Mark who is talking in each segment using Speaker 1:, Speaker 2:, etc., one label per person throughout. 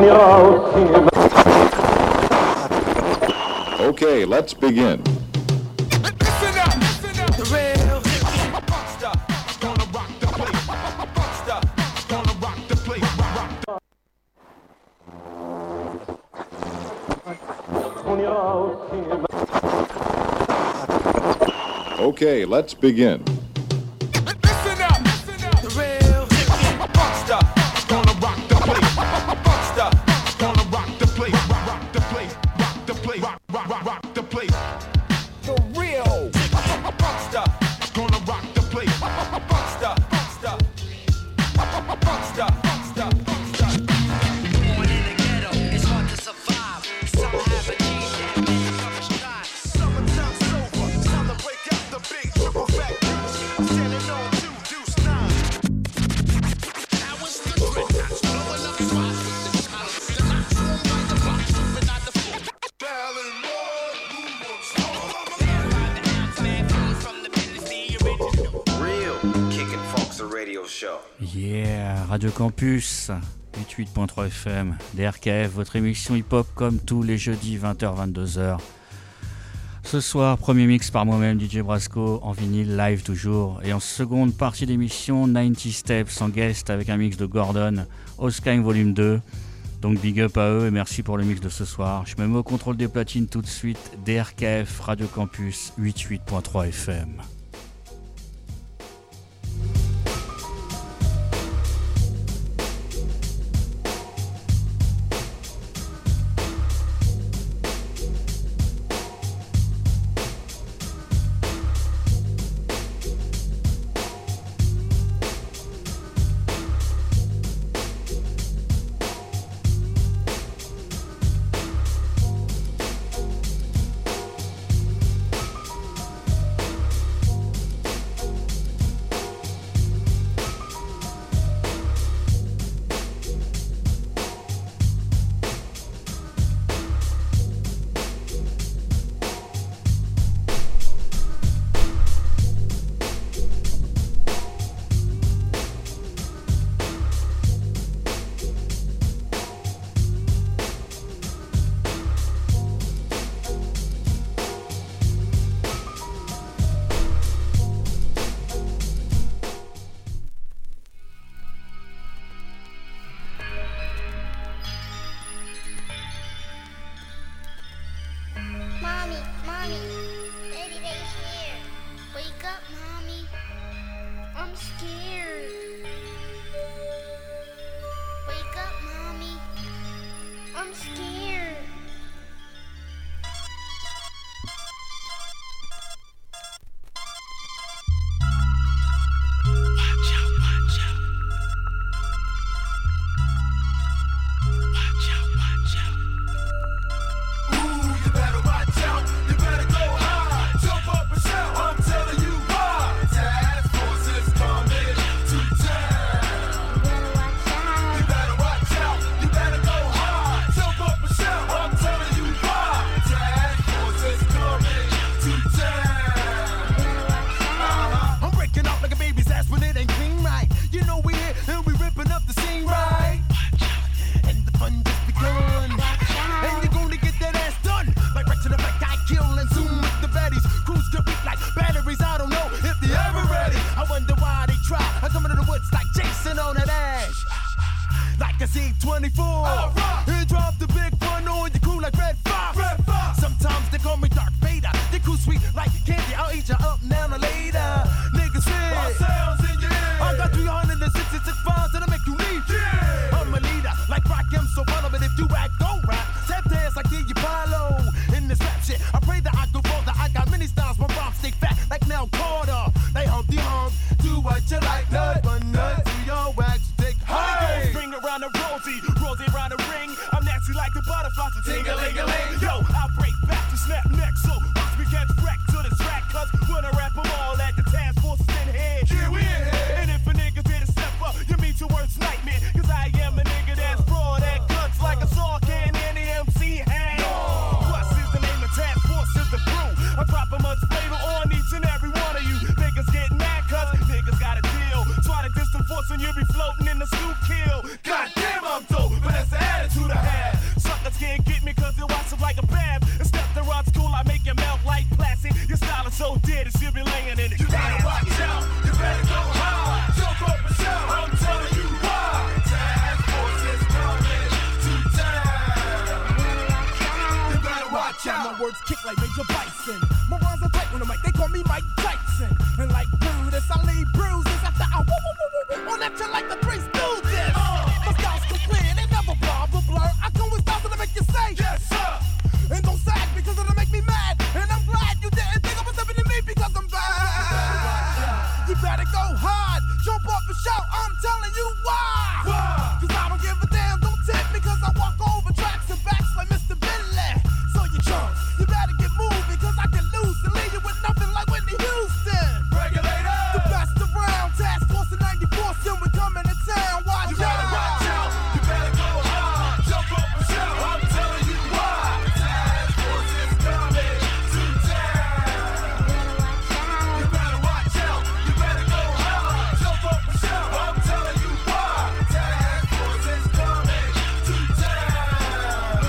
Speaker 1: Okay, let's begin. Okay, let's begin.
Speaker 2: Radio Campus 88.3 FM, DRKF, votre émission hip-hop comme tous les jeudis 20h-22h. Ce soir, premier mix par moi-même, DJ Brasco, en vinyle, live toujours. Et en seconde partie d'émission, 90 Steps en guest avec un mix de Gordon, Oskine Volume 2. Donc big up à eux et merci pour le mix de ce soir. Je me mets au contrôle des platines tout de suite, DRKF, Radio Campus 88.3 FM.
Speaker 3: Words nightmare, cause I am a nigga that's broad at guts like a saw can. watch out. My words kick like Major Bison. My rhymes are tight on the mic, they call me Mike Tyson. And like Brutus, I leave bruises after I woo on that you like the Three Stooges. My style's clear, they never blah blah blur. I come with styles that'll make you say yes sir. And don't sag because it'll make me mad. And I'm glad you didn't think I was stepping to me because I'm bad. You better go hard, jump up and shout. I'm telling you why. Cause I don't give a damn, don't tip me cause I walk over tracks and backs like Mr. Billy. So you chumps, you better get moved because I can lose and leave you with nothing like Whitney Houston. Regulators, the best around, task force in 94, soon we coming to town. Watch out. You better watch out, you better go hard, jump up and shout. I'm telling you why. Task force is coming to town. You better watch out, you better go hard, jump up and shout. I'm telling you why. Task force is coming to town.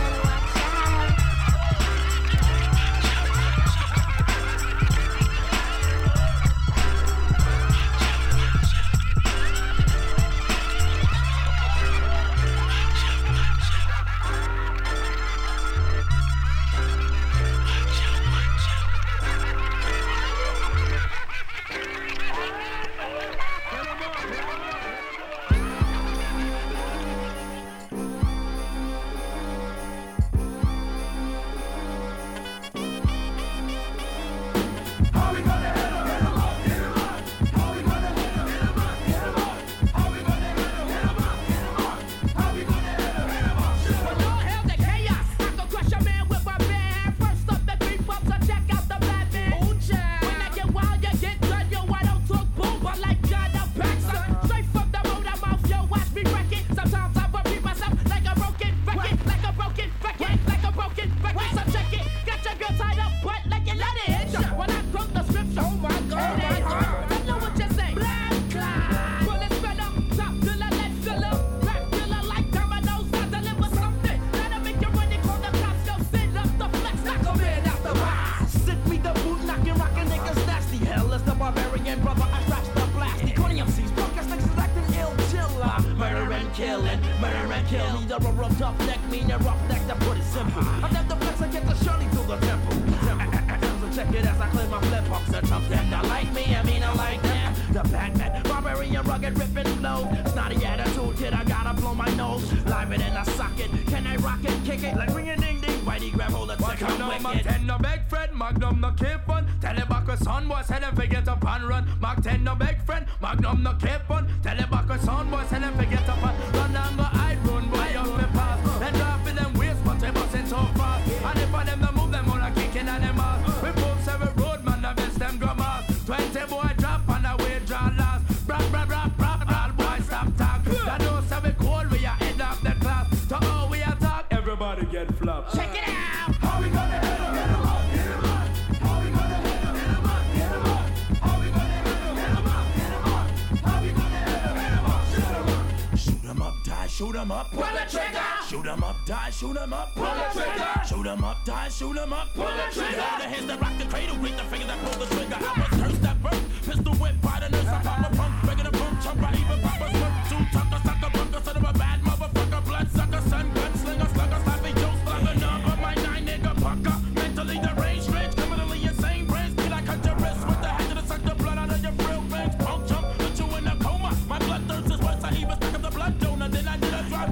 Speaker 3: Shoot 'em up, pull the trigger. Shoot 'em up, die, shoot 'em up, pull the trigger. Shoot 'em up, die, shoot 'em up, pull the trigger. The hands that rock the cradle, greet the fingers that pull the trigger. I was cursed at birth, pistol whip by the nurse. I pop a pump, regular boom, chump, I even pop a smoke. Two tucker, sucker, bunker, son of a bad motherfucker. Blood sucker, son, gun slinger, slugger, sloppy Joe, slugger, number, my 9 nigga pucker. Mentally deranged, strange, criminally insane, brains. Be like cut your wrist with the hatchet to suck the blood out of your real veins. Punk chump, put you in a coma. My blood thirst is worse, I even stuck up the blood donor. Then I did a drop,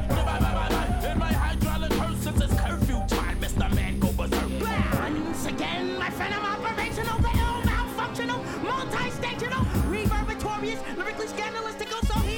Speaker 3: in my hydraulic hearse since it's curfew time, Mr. Man go berserk. Once again, my friend, I'm operational, the ill malfunctional, multi-stational, reverbatorious, lyrically scandalous to go so here.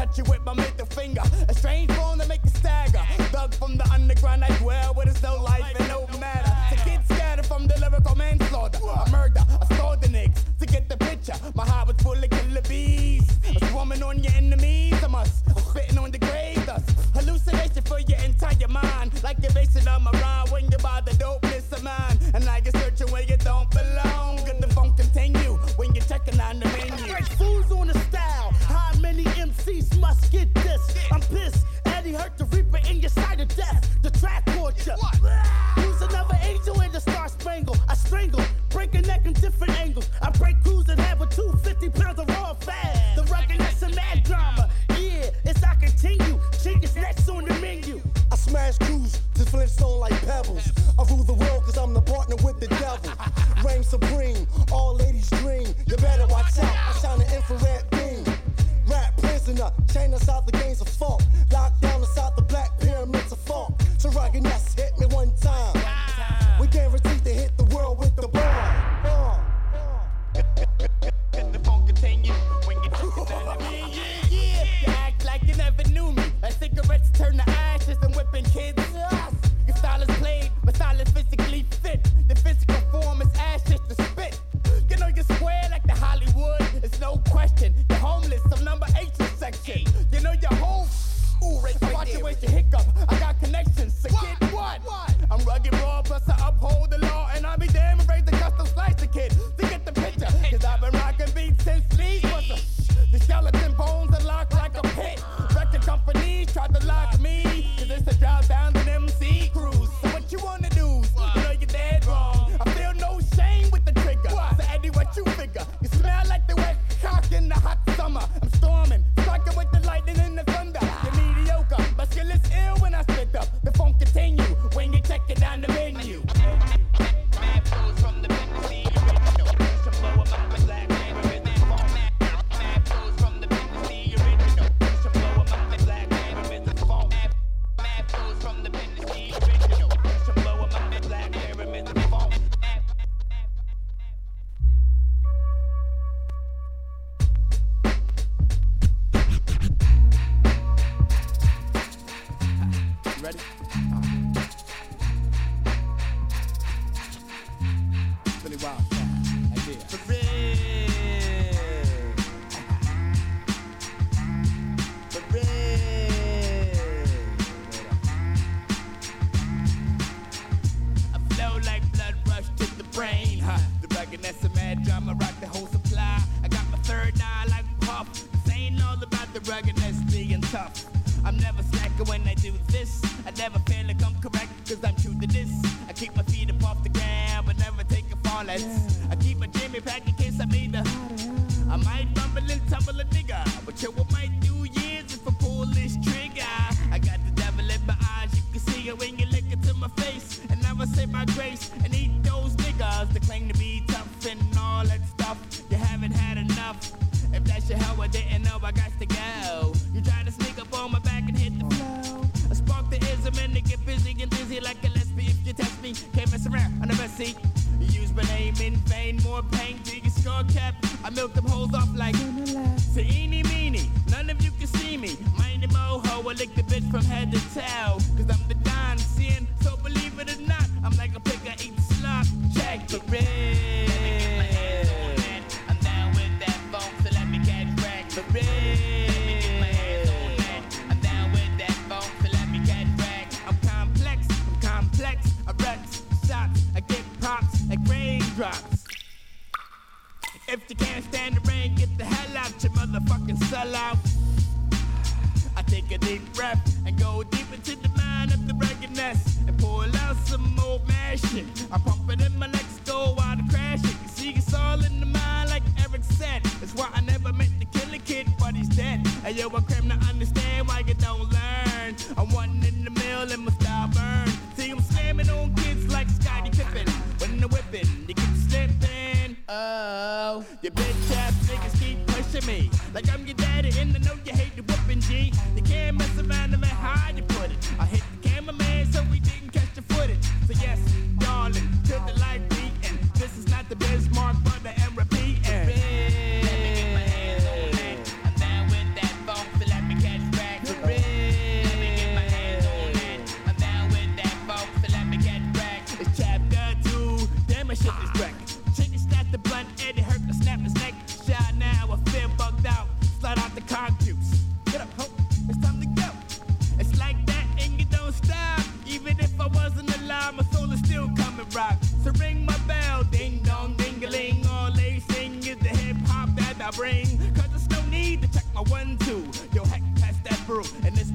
Speaker 3: at you with my middle finger. A strange bone to make you stagger. Dug from the underground, I dwell where there's no life and no matter. To get scattered from the lyrical manslaughter. A murder, I stole the niggas. To get the picture, my heart was full of killer bees. A swarming on your enemies, I must. Spitting on the grave dust. Hallucination for your entire mind. Like you're basing on my rhyme when you buy the dopeness of mine. And like you're searching where you don't belong. Good the funk continue when you're checking on the menu.
Speaker 4: Like fools on the style. How many MCs must get this? I'm pissed. Eddie hurt the reaper in your side of death. The track torture. Use another angel in the Star Spangled. I strangle, break a neck in different angles. I break crews and have a 250 pounds of raw fat. The ruggedness and mad drama. Yeah, it's I continue. Chickens next on the menu.
Speaker 5: I smash crews to Flintstone like pebbles. I rule the world cause I'm the partner with the devil. Reign supreme, all ladies dream. You better watch out, I shine an infrared beam. Rap prisoner, chain us out the games of funk. Lock down us out the black pyramids of funk. So ruggedness hit me one time. We guaranteed to hit the world with the bomb.
Speaker 3: Can the funk continue when you yeah. You act like you never knew me. Like cigarettes turn to ashes and whipping kids. Your style is played, but style is physically fit. The physical form is ashes to spit. You know you're square like the Hollywood. It's no question. You're homeless, some number 8 section. You know your whole watch your ways to hiccup. I got connections, so get what? I'm rugged raw, plus I uphold the law. And I'll be damn and raise the custom slice the kid to get the picture. Cause I've been rocking beats since Lee's was the skeleton bones are locked like a pit. Record companies tried to lock me. Cause it's a drop down to them MC crews. So what you wanna do? You know you're dead wrong. I feel no shame with the trigger. So Eddie, what you figure? You smell like the wet cock in the hot summer. I'm storming, striking with the lightning and the thunder. You're mediocre, but skill is ill when I spit up. The funk continue when you check it down the menu. Mad flows from the Tennessee original. Some blow up my black neighbor in that phone. Mad flows from the Tennessee original. Some blow up my black neighbor in the phone. Mad flows from the Tennessee original. Some blow up my black neighbor in the phone. Ready? Really wild idea. For real. For real. I flow like blood rush to the brain. The ruggedness of mad drama rock the whole supply. I got my third eye like Puff. This ain't all about the ruggedness being tough. I'm never slacking when I do this. I never feel like I'm correct, cause I'm true to this. I keep my feet up off the ground, but never take a fall. I keep my Jimmy pack in case I need her. I might rumble and tumble a nigga, but yo, what might do years if I pull this trigger. I got the devil in my eyes, you can see it when you look into my face. And I will say my grace and eat those niggas that claim to be tough and all that stuff. You haven't had enough. If that's your hell, I didn't know I got to go. You try to sneak up on my back and hit the flow. I spark the ism and they get busy and dizzy like a lesbian. If you test me, can't mess around on the best seat. You use my name in vain, more pain to your skull cap. I milk them hoes off like say eeny meeny. None of you can see me. Mindy moho, I lick the bitch from head to toe. Cause I'm the Don sin, so believe it or not, I'm like a pig, I eat slop. Check the red. Let me get my hands on that. I'm down with that funk, so let me catch wreck. The red. Let me get my hands on that. I'm down with that funk, so let me catch wreck. I'm complex, I wreck shots, I get props like raindrops. If you can't stand the rain, get the hell out your motherfucking sellout. I take a deep breath and go deep into the mind of the ruggedness and pull out some old mad shit. I pump it in my legs, go out and crash it. You see, it's all in the mind, like Eric said. That's why I never meant to kill a kid, but he's dead. And yo, I cram to understand why you don't learn. I'm one in the mill and my style burn. See, I'm slamming on kids like Scottie Pippen. When they're whipping, they keep slipping. Oh, your bitch ass niggas keep pushing me like I'm your daddy, and I know you hate the whooping G. You can't mess around no matter how you put it. I hit the cameraman so we didn't catch the footage. So yes, darling, to the life beating. This is not the Bismarck, but the M repeating. Let me get my hands on that. I'm down with that funk, so let me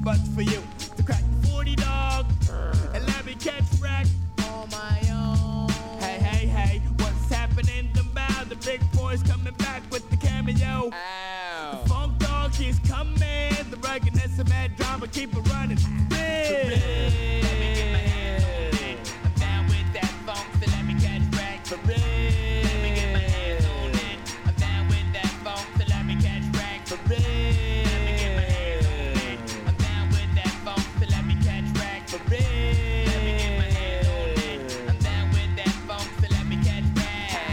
Speaker 3: but for you to crack the 40 dog and let me catch wreck on my own. Hey, hey, hey, what's happening about the big boys coming back with the cameo? Ow. The funk dog keeps coming, the ruggedness of mad drama keep it running. Let me get my hands on it. I'm down with that funk, so let me catch wreck for real. Let me get my hands on it. I'm down with that funk, so let me catch wreck for real. Let me get my hands on it. I'm down with that funk, so let me catch wreck for real. Let me get my hands on it. I'm down with that funk, so let me catch wreck.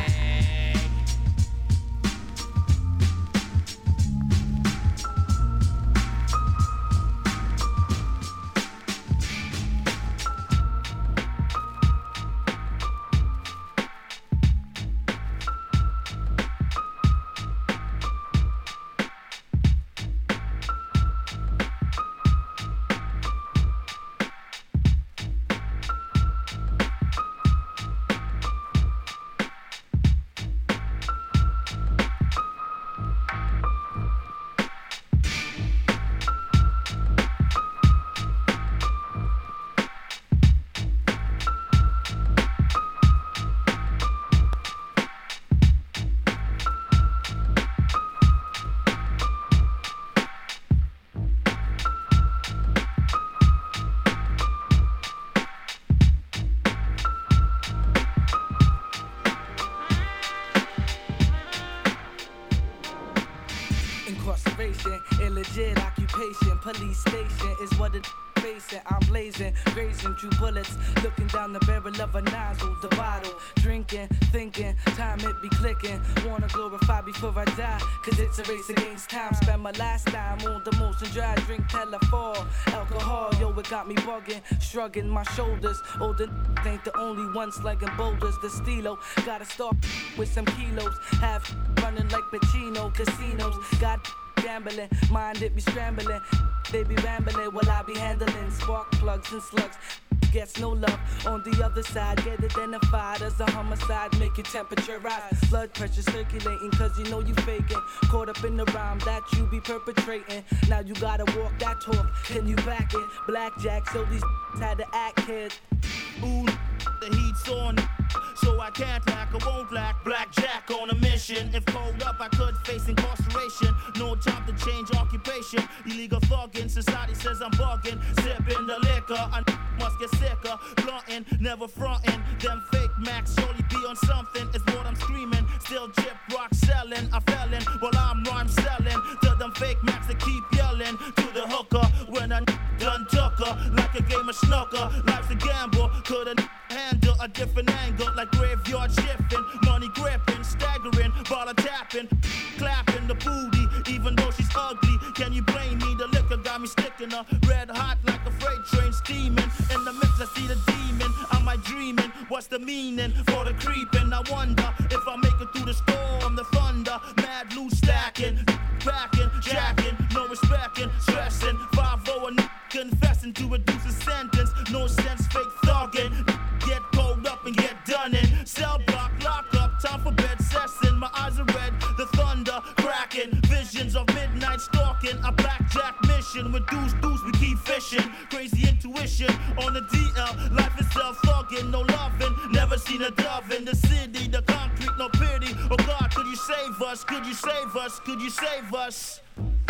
Speaker 3: Incarceration, illegit occupation, police station is what it facing. I'm blazing, grazing through bullets, looking down the barrel of a nozzle, the bottle, drinking, thinking, time it be clicking. Wanna glorify before I die, cause it's a race against time. Spend my last time on the motion dry, drink till I fall. Alcohol, yo, it got me bugging, shrugging my shoulders. Oh, the ain't the only one slugging boulders. The stilo, gotta start with some kilos. Have running like Pacino, casinos. Got gambling, mind it be scrambling. They be rambling while I be handling spark plugs and slugs. Gets no love on the other side. Get identified as a homicide. Make your temperature rise. Blood pressure circulating cause you know you faking. Caught up in the rhyme that you be perpetrating. Now you gotta walk that talk. Can you back it? Blackjack, so these had to act, kid. Ooh, the heat's on, so I can't lack, I won't lack. Blackjack on a mission. If cold up, I could face incarceration. No time to change occupation. Illegal thugging, society says I'm bugging. Sipping the liquor, I must get sicker. Blunting, never fronting. Them fake Macs surely be on something. It's what I'm screaming. Still jip rock selling. I fell in while I'm rhyme selling. To them fake Macs that keep yelling. To the hooker when I done took her. Like a game of snooker. Life's a gamble. Couldn't handle a different angle. Like graveyard shifting. Money gripping. Staggering. Baller tapping. Clapping the booty. Even though she's ugly. Can you blame me? The liquor got me sticking her. Red hot like a freight train steaming. In the mix I see the demon. Am I dreaming? What's the meaning for the creeping? I wonder if I make it through the storm. The thunder. Mad loose stacking. Packing. Jacking. No respecting. Stressing. 5-0 confessing to reduce a sentence. No sense fake thugging. Get cold up and get done in. Cell block, lock up, time for bed session. My eyes are red, the thunder cracking. Visions of midnight stalking. A blackjack mission with deuce, we keep fishing. Crazy intuition on the DL. Life itself thugging, no loving. Never seen a dove in the city. The concrete, no pity. Oh God, could you save us? Could you save us? Could you save us?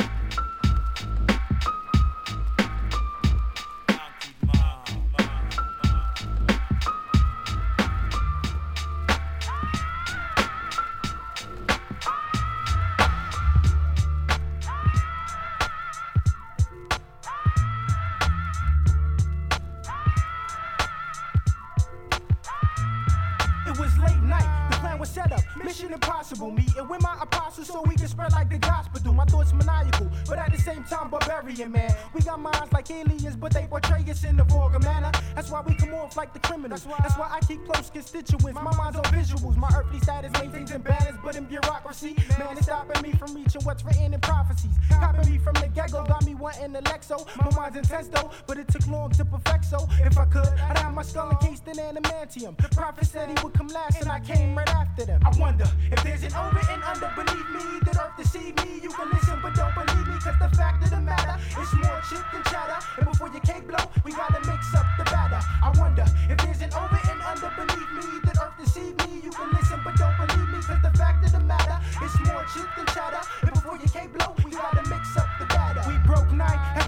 Speaker 4: Mission impossible, meeting with my apostles so we can spread like the gospel do. My thoughts maniacal, but at the same time barbarian, man. We got minds like aliens, but they portray us in the vulgar manner. That's why we come off like the criminals. That's why I keep close constituents. My mind's on visuals. My earthly status maintains in balance, but in bureaucracy, man, it's stopping me from reaching what's written in prophecies. Copping me from the get-go, got me wanting the Lexo. My mind's intense though, but it took long to perfect. So if I could, I'd have my skull encased in adamantium. The prophet said he would come last, and I came right after them. I wonder if there's an over and under beneath me, that earth deceive me. You can listen, but don't believe me, cause the fact of the matter is more chip than chatter.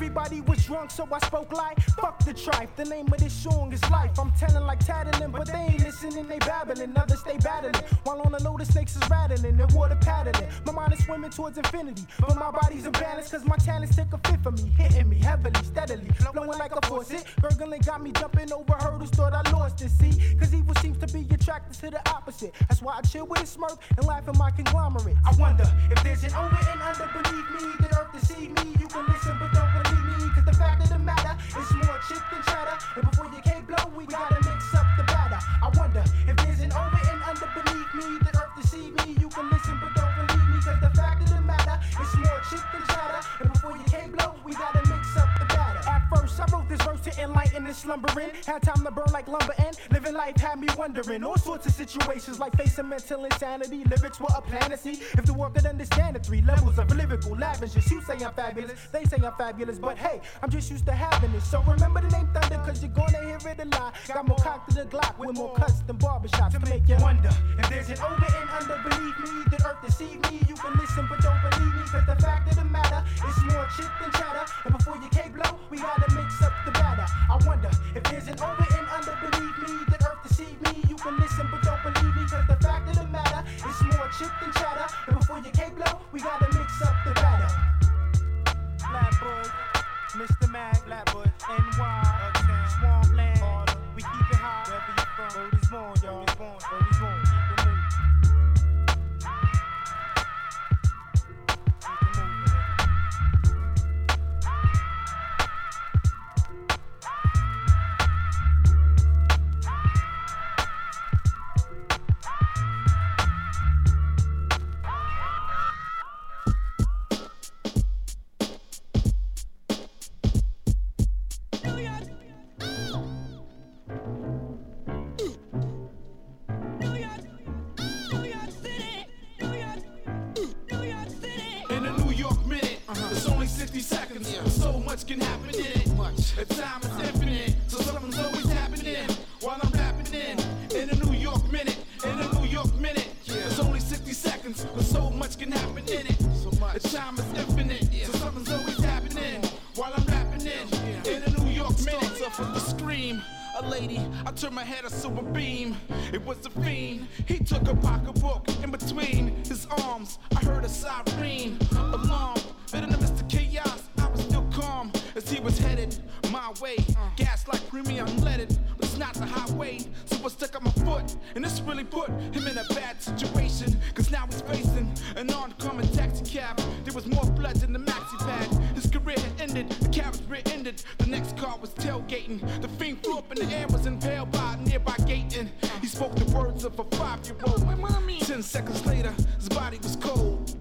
Speaker 3: Everybody was drunk, so I spoke like, fuck the tripe. The name of this song is Life. I'm telling like tattling, but they ain't listening, they babbling. Others stay battling, while on the low the snakes is rattling, the water paddling. My mind is swimming towards infinity, but my body's imbalanced, cause my talents take a fifth of me, hitting me heavily, steadily, flowing like a faucet. Gurgling got me jumping over hurdles, thought I lost it, see? Cause evil seems to be attracted to the opposite. That's why I chill with a smirk and laugh at my conglomerate. I wonder if there's an over and under beneath me, the earth to see me. You can listen, but don't believe me, cause the fact of the matter is more chick than chatter. And before you can't blow, we gotta mix up the batter. I wonder if there's an over and under beneath me, the earth to see me. You can listen, but don't believe me, cause the fact of the matter is more chick than chatter. And before you can't blow, we gotta mix up the batter. At first, I wrote this verse to enlighten and slumbering. Had time to burn like lumber and living life had me wondering. All sorts of situations like facing mental insanity. Lyrics were a fantasy. If the world could understand the three levels of lyrical lavishness. You say I'm fabulous, they say I'm fabulous, but hey, I'm just used to having it. So remember the name Thunder, cause you're gonna hear it a lot. Got more cock to the Glock with more cuts than barbershops to make you wonder if there's an over and under beneath me, the earth deceive me. You can listen but don't believe me, cause the fact of the matter is more chick than chatter. And before you can't blow, we gotta mix up the batter. I wonder if there's an over and under beneath me, the earth deceive me. You can listen but don't believe me, cause the fact of the matter is more chick than chatter. And before you can't blow, we gotta mix up the batter. Flatbush, Mr. Mac, Flatbush, NY, Uptown, Swampland, we keep it high, wherever you from. Word is born, y'all. Word is born, word is born. Keep it moving.
Speaker 6: Can happen in it. The time is infinite, so something's always happening while I'm rapping in a New York minute. In a New York minute, there's only 60 seconds, but so much can happen in it. The time is infinite, so something's always happening while I'm rapping in a New York minute. Starts off with a scream. A lady, I turned my head, I saw a beam. It was a fiend. He took a pocketbook in between his arms. I heard a siren alarm. But in the midst of chaos, I was still calm as he was headed my way. Gas like premium unleaded, but it's not the highway. So I stuck on my foot, and this really put him in a bad situation. Cause now he's facing an oncoming taxi cab. There was more blood than the maxi pad. His career had ended, the cab's rear ended. The next car was tailgating. The fiend flew up in the air, was impaled by a nearby gate. And he spoke the words of a 5-year-old. 10 seconds later, his body was cold.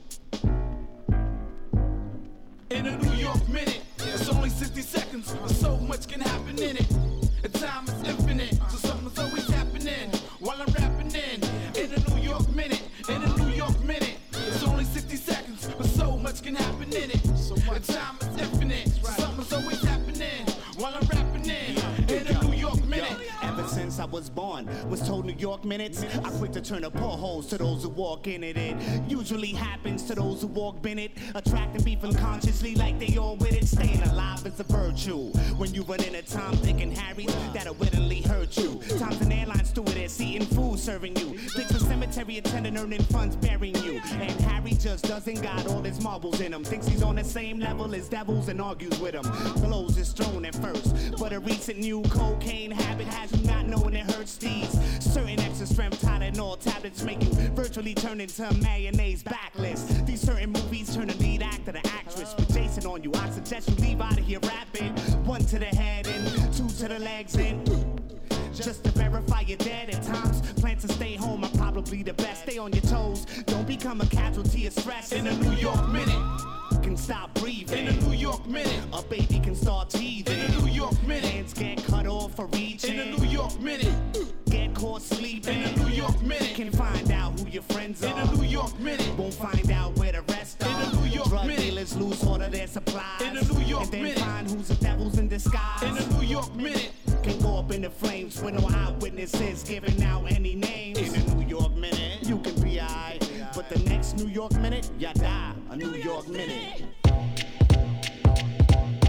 Speaker 6: In a New York minute, it's only 60 seconds, but so much can happen in it. The time is infinite, so something's always happening while I'm rapping in a New York minute. In a New York minute, it's only 60 seconds, but so much can happen in it. The time is infinite, so something's always happening while I'm rapping in a New York minute.
Speaker 7: Ever since I was born, was told New York minutes. I quit to turn the potholes to those who walk in it. It usually happens to those who walk in it. Attracting beef unconsciously like they all with it. Staying alive is a virtue. When you run into Tom, Dick, and Harry, that'll wittingly hurt you. Tom's an airline stewardess, eating food, serving you. Dick's a cemetery attendant, earning funds, burying you. And Harry just doesn't got all his marbles in him. Thinks he's on the same level as devils and argues with him. Blows his throne at first, but a recent new cocaine habit has you not knowing it hurts these. Certain extra strength Tylenol tablets make you virtually turn into a mayonnaise backlist. These certain movies turn the lead actor to actress. With Jason on you, I suggest you leave out of here rapping. 1 to the head and 2 to the legs and just to verify you're dead at times. Plan to stay home are probably the best. Stay on your toes, don't become a casualty of stress.
Speaker 6: In a New York minute,
Speaker 7: can stop breathing.
Speaker 6: In a New York minute,
Speaker 7: a baby can start teething.
Speaker 6: In a New York minute,
Speaker 7: hands get cut off for reaching.
Speaker 6: In a New York minute,
Speaker 7: get caught sleeping.
Speaker 6: In a New York minute,
Speaker 7: can find out who your friends are.
Speaker 6: In a New York minute,
Speaker 7: won't find out where the rest are.
Speaker 6: In a New York
Speaker 7: drug
Speaker 6: minute,
Speaker 7: dealers lose all of their supplies.
Speaker 6: In a New York
Speaker 7: and then
Speaker 6: minute,
Speaker 7: find who's the devils in disguise.
Speaker 6: In a New York minute,
Speaker 7: can go up in the flames with no eyewitnesses giving out any names. In a New York minute, you can be alright, but the next New York minute, you die. A New York minute.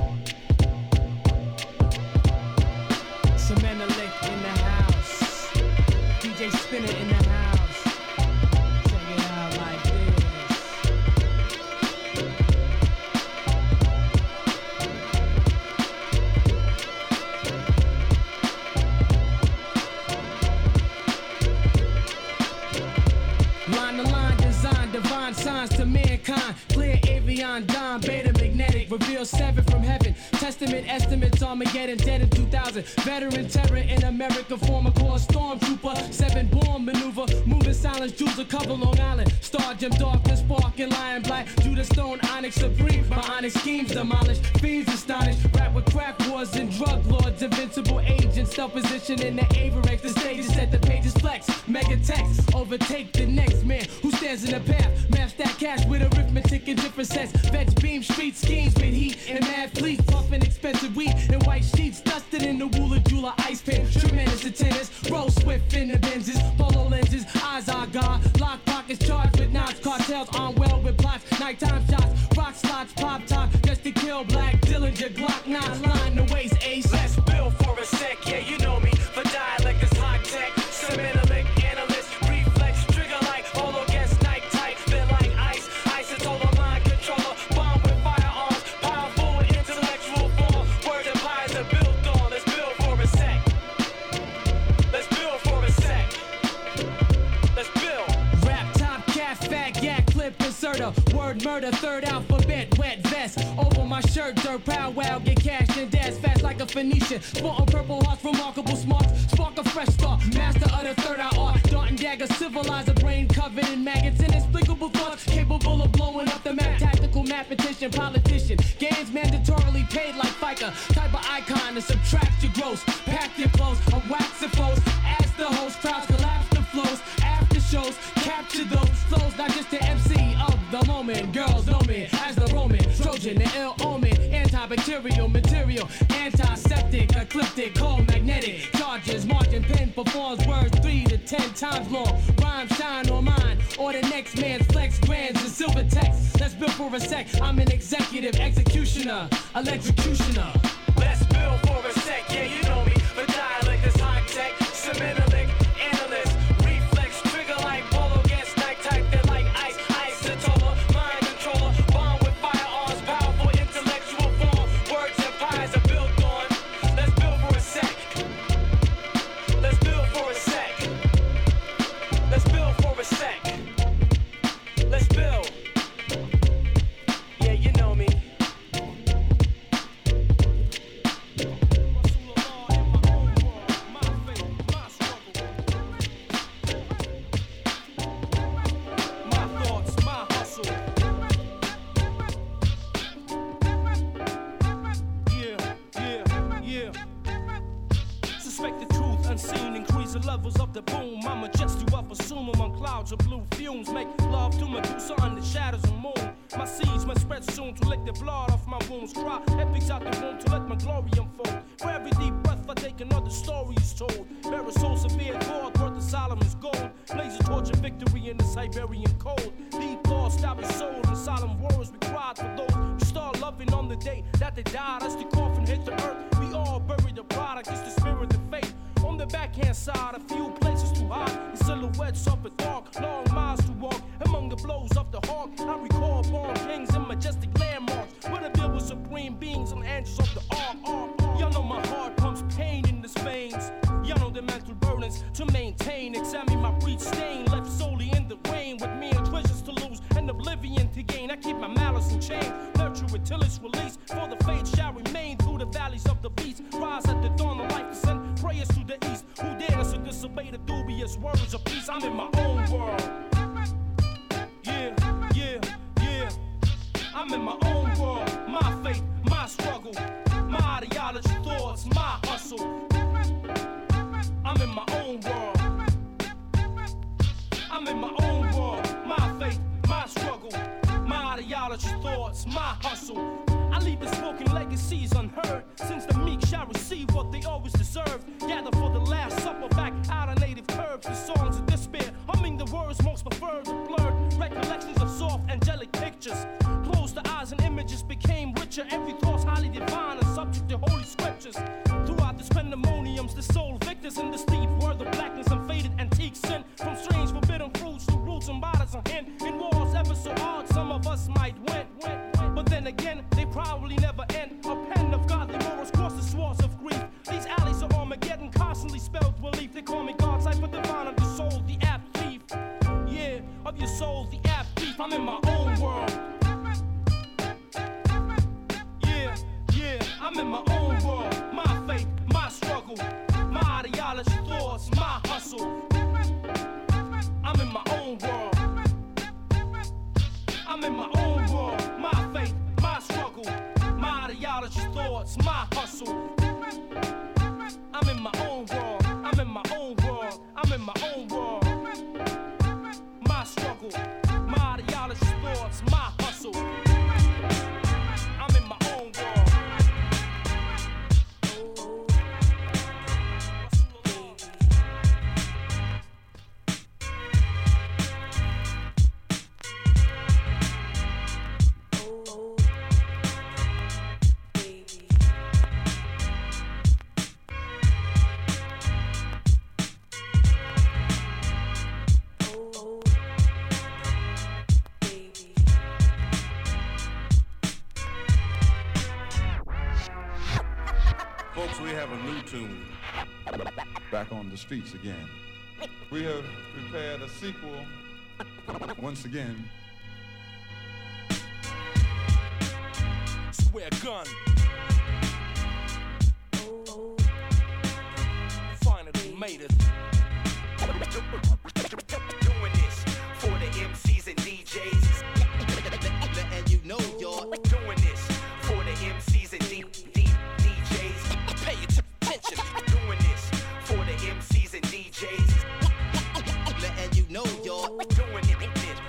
Speaker 8: 7 from heaven. Testament estimates, Armageddon, dead in 2000. Veteran terror in America, former core stormtrooper. 7 born maneuver, moving silence, jewels of cover Long Island. Star Jim Darkness, Spark and Lion Black. Judah Stone, Onyx Supreme. My onyx schemes demolished, fiends astonished. Rap with crack wars and drug lords. Invincible agents, stealth position in the Averex. The stage is set, the pages flex. Mega text, overtake the next man who stands in the path. Math that cash with arithmetic in different sets. Vets beam street schemes with heat and mad fleets. Puffing expensive weed and white sheets. Dusted in the Woola Jula ice pin. Tremendous attendance, roll swift in the Benzes. Polo lenses, eyes are God. Lock pockets charged with knots. Cartels on well with plots. Nighttime shots, rock slots, pop top. Just to kill black Dillinger, Glock 9. Line the waist, ace. Let's build for a sec, yeah, you know me. For dialect is high tech. Semantic analyst, reflex, trigger like all against night tight. Feel like ice, is all a mind controller. Bomb with firearms, powerful intellectual form. Words and pies are built on. Let's build for a sec. Let's build for a sec. Let's build. Rap top, cat, fat, yak, clip, inserter. Word murder, third alphabet, wet vest. Over my shirt, dirt, powwow, get cash and dash fast like a Phoenician. Sporting purple hearts, remarkable smarts. Spark a fresh start, master of the third eye art. Dart and dagger, civilize a brain covered in maggots. Inexplicable thoughts, capable of blowing up the map. Tactical mathematician, politician. Games mandatorily paid like FICA. Type of icon to subtract your gross. Pack your clothes, I'm waxing flows. Ask the host, crowds collapse the flows. After shows, capture those flows. Not just the MC of the moment. Girls know me as the Roman, Trojan, the ill omen. Antibacterial material, antiseptic, ecliptic, cold magnetic. Charges, margin pen performs words 3 to 10 times long. Rhyme shine on mine, or the next man's flex grands in silver text. Let's build for a sec. I'm an executive executioner, electrocutioner. Let's build for a sec. Yeah, you know me. The dialect is high tech. Semantic analyst, reflex trigger like polo against night type. They're like ice, isotoper, mind controller. Bomb with firearms, powerful intellectual form. Words and pies are built on. Let's build for a sec. Let's build for a sec. Let's build for a sec. Let's build. Yeah, you know me.
Speaker 9: Unseen, increase the levels of the boom. I'ma just you up, assume among clouds of blue fumes. Make love to Medusa under shadows of moon. My seeds must spread soon to lick the blood off my wounds. Cry epics out the womb to let my glory unfold. For every deep breath I take, another story is told. Bear a soul severe, God worth of Solomon's gold. Blaze a torch of victory in the Siberian cold. Deep thoughts that we sold in solemn words we cried for those who start loving on the day that they died. As the coffin hit the earth, we all buried the product. It's the spirit of faith. On the backhand side, a few places to hide. The silhouettes of the dark, long miles to walk. Among the blows of the hawk, I recall born kings and majestic landmarks. Where the bill was supreme beings and angels of the ark. Y'all know my heart pumps pain in its veins. Y'all know the mental burdens to maintain. Examine my breed stain, left solely in the rain. With me and treasures to lose and oblivion to gain. I keep my malice in chain, nurture it till it's released. For the faith shall remain through the valleys of the beast. Rise at the dawn of life to send prayers to the east. Who dares to disobey the dubious words of peace? I'm in my own world. Yeah, yeah, yeah. I'm in my own world. My faith, my struggle, my ideology, thoughts, my hustle. I'm in my own world. I'm in my own world. My faith, my struggle, my ideology, thoughts, my hustle. I leave the spoken legacies unheard, since the meek shall receive what they always deserve. Gather for the last supper back out of native curves. The songs of despair, humming the words most preferred. The blurred recollections of soft angelic pictures. Closed the eyes and images became richer. Every thought's highly divine and subject to holy scriptures. Throughout the pandemoniums, the soul victors in the steep word of blackness and faded antique sin. From strange forbidden fruits to roots and bodies on hand. In wars ever so hard, some of us might win. But then again, they probably never end. A pen of godly morals cross the swords of grief. These alleys of Armageddon constantly spelled relief. They call me God's life, but divine of your soul, the apt thief. Yeah, of your soul, the apt thief. I'm in my own world. Yeah, thoughts, my hustle. I'm in my own world, I'm in my own world, I'm in my own world. My struggle, my ideology, thoughts, my hustle. I'm in my own world.
Speaker 10: Back on the streets again. We have prepared a sequel once again.
Speaker 9: Swear gun. Finally made it.
Speaker 11: Doing this for the MCs and DJs. Letting you know you're doing this for the MCs and DJs. Pay attention. Doing this for the MCs and DJs. Letting you know you're doing it.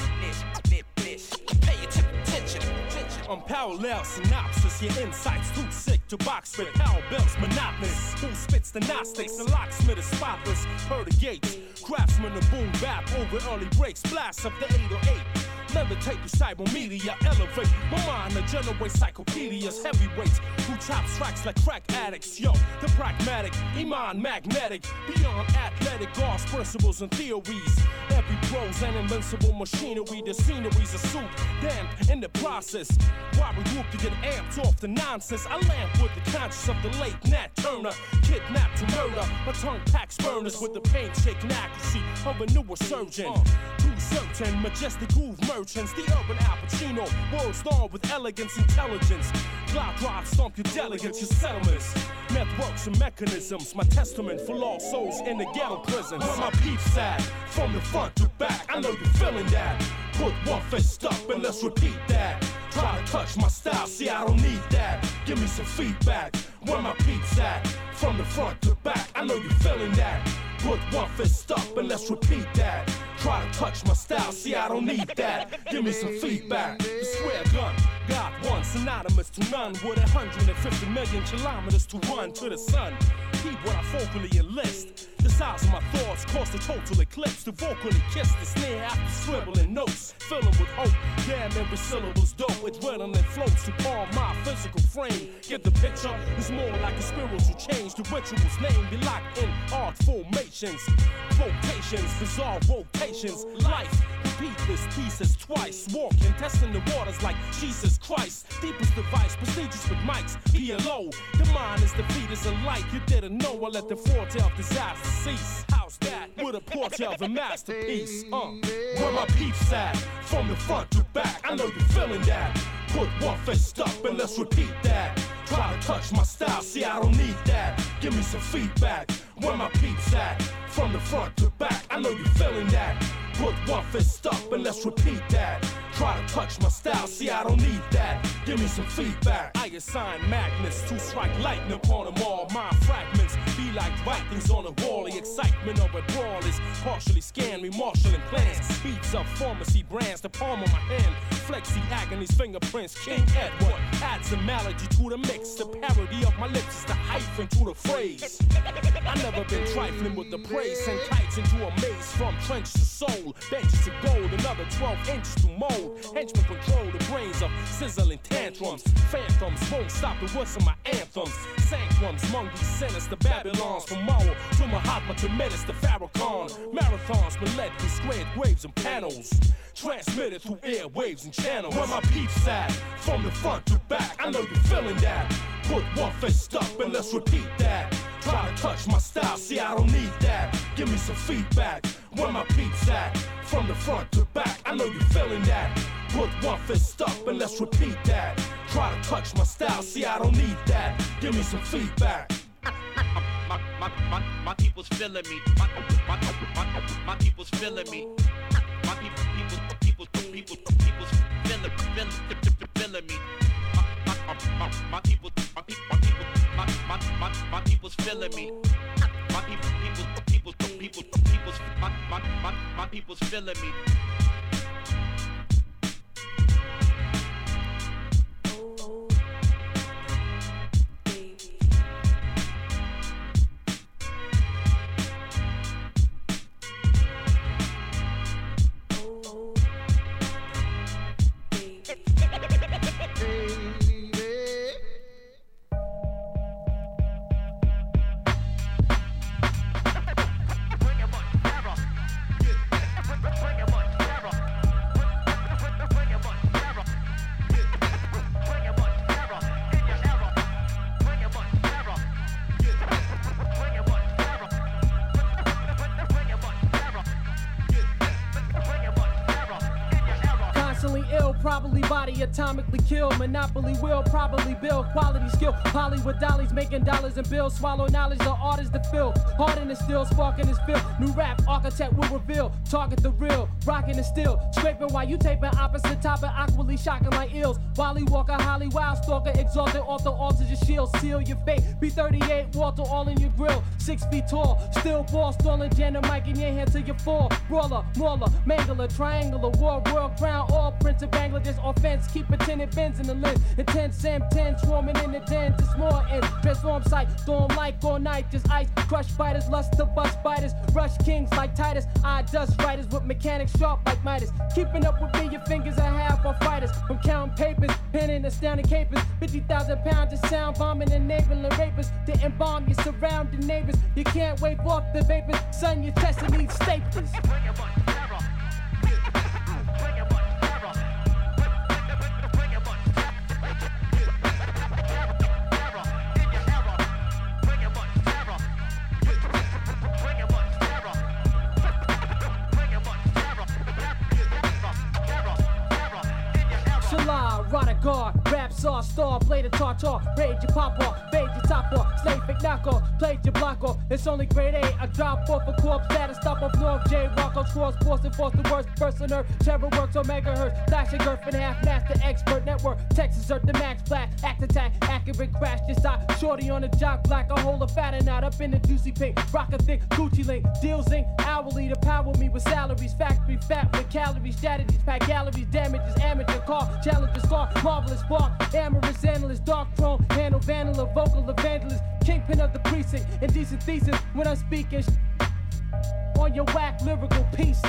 Speaker 11: Pay attention.
Speaker 9: Unparalleled synopsis, your insights too sick to box with. Cowbells monotonous. Who spits the Gnostics? The locksmith is spotless. Heard the gates. Craftsman and boom bap over early breaks. Blast of the 808. Levitate through cyber media, elevate my mind to generate encyclopedias, heavyweights who chop tracks like crack addicts. Yo, the pragmatic, Iman magnetic, beyond athletic, God's principles and theories. Every pro's an invincible machinery, the scenery's a soup, damned in the process. Why we group to get amped off the nonsense? I lamp with the conscience of the late Nat Turner, kidnapped to murder. My tongue packs burners with the pain-shaking accuracy of a newer surgeon. Too certain, majestic groove merchants, the urban Al Pacino, words dawn with elegance, intelligence. Cloud drive stomp your delegates, your settlements. Networks and mechanisms, my testament for lost souls in the ghetto prisons. Where my peeps at, from the front to back, I know you're feeling that. Put one fist up and let's repeat that. Try to touch my style, see I don't need that. Give me some feedback, where my peeps at, from the front to back, I know you're feeling that. Put one fist up and let's repeat that. Try to touch my style, see I don't need that. Give me some feedback. The square gun, God one, synonymous to none. With 150 million kilometers to run to the sun. Keep what I vocally enlist. The size of my thoughts cause the total eclipse. To vocally kiss the snare after scribbling notes. Filling with hope, damn every syllable's dope. Adrenaline floats to calm my physical frame. Get the picture, it's more like a spiritual change. The ritual's name be locked in art formations. Vocations, bizarre rotations. Life, repeat this thesis twice. Walking, testing the waters like Jesus Christ. Deepest device, prestigious with mics. PLO, the mind is the fetus of light. You didn't know I let the forte of disaster cease. How's that? With a portrait of a masterpiece. Where my peeps at, from the front to back, I know you're feeling that. Put one fist up and let's repeat that. Try to touch my style, see I don't need that. Give me some feedback, where my peeps at, from the front to back, I know you're feeling that. Put one fist up and let's repeat that. Try to touch my style, see I don't need that. Give me some feedback. I assign magnets to strike lightning upon them all. My fragments be like writings on a wall. The excitement of a brawl is partially scanned, me marshalling plans. Beats of pharmacy brands, the palm of my hand. Flexi agony's fingerprints, King Edward adds a melody to the mix. The parody of my lips is the hyphen to the phrase. I never been trifling with the praise. Send kites into a maze from trench to soul. Benches to gold, another 12 inches to mold. Henchmen control the brains of sizzling tantrums. Phantoms won't stop the words of my anthems. Sanctums, among these sinister Babylons. From Mao to Mahatma to Menace to Farrakhan. Marathons were led through squared waves and panels. Transmitted through airwaves and channels. Where my peeps at, from the front to back, I know you're feeling that. Put one fist up and let's repeat that. Try to touch my style, see I don't need that. Give me some feedback, where my peeps at, from the front to back, I know you're feeling that. Put one fist up and let's repeat that. Try to touch my style, see I don't need that. Give me some feedback.
Speaker 11: My people's feeling me. My people's feeling me. My people's feeling me. My people's feeling me. My people's feeling me.
Speaker 8: Probably body atomically kill. Monopoly will probably build quality skill. Hollywood dollies making dollars and bills. Swallow knowledge, the artist to fill. Heart in the still, sparking his fill. New rap architect will reveal. Target the real, rocking the still. Scraping while you taping opposite topic. Awkwardly shocking like ills. Wally Walker, Holly Wild Stalker. Exalted author, alter your shield. Seal your fate. B38, Walter all in your grill. 6 feet tall. Still ball, stalling. Jam the mic in your hand till you fall. Brawler, mauler, mangler, triangular. War, world crown. All printed Bangladesh. Offense, keep pretending bends in the lens. Intense M10, swarming in the den. Just more ends. Transform sight, storm like all night. Just ice, crush fighters, lust to bust spiders. Rush kings like Titus. I dust writers with mechanics sharp like Midas. Keeping up with me, your fingers are half on fighters. From counting papers, penning astounding capers. 50,000 pounds of sound bombing, enabling rapers to embalm your surrounding neighbors. You can't wave off the vapors. Son, your chest needs staplers. Rada guard, rap saw, star, blade of tartar, rage your pop off, fade your top off, slave fake knock off, played your block off. It's only grade A, I drop off a corpse, status stop off North J, Rocco, Cross, Boston, force the worst, person earth, terror works on megahertz, flash a girth in half, master expert network, Texas Earth, the max black, act attack, accurate crash, just stop, shorty on the jock black, I hold a fat and out up in the juicy pink, rock a thick, Gucci link, deal zinc, hourly to power me with salaries, factory fat with calories, strategies, pack galleries, damages, amateur car, challenges, car, marvelous spark, amorous analyst, dark throne, handle vandal, vocal evangelist, kingpin of the precinct, indecent thesis when I'm speaking on your whack lyrical pieces.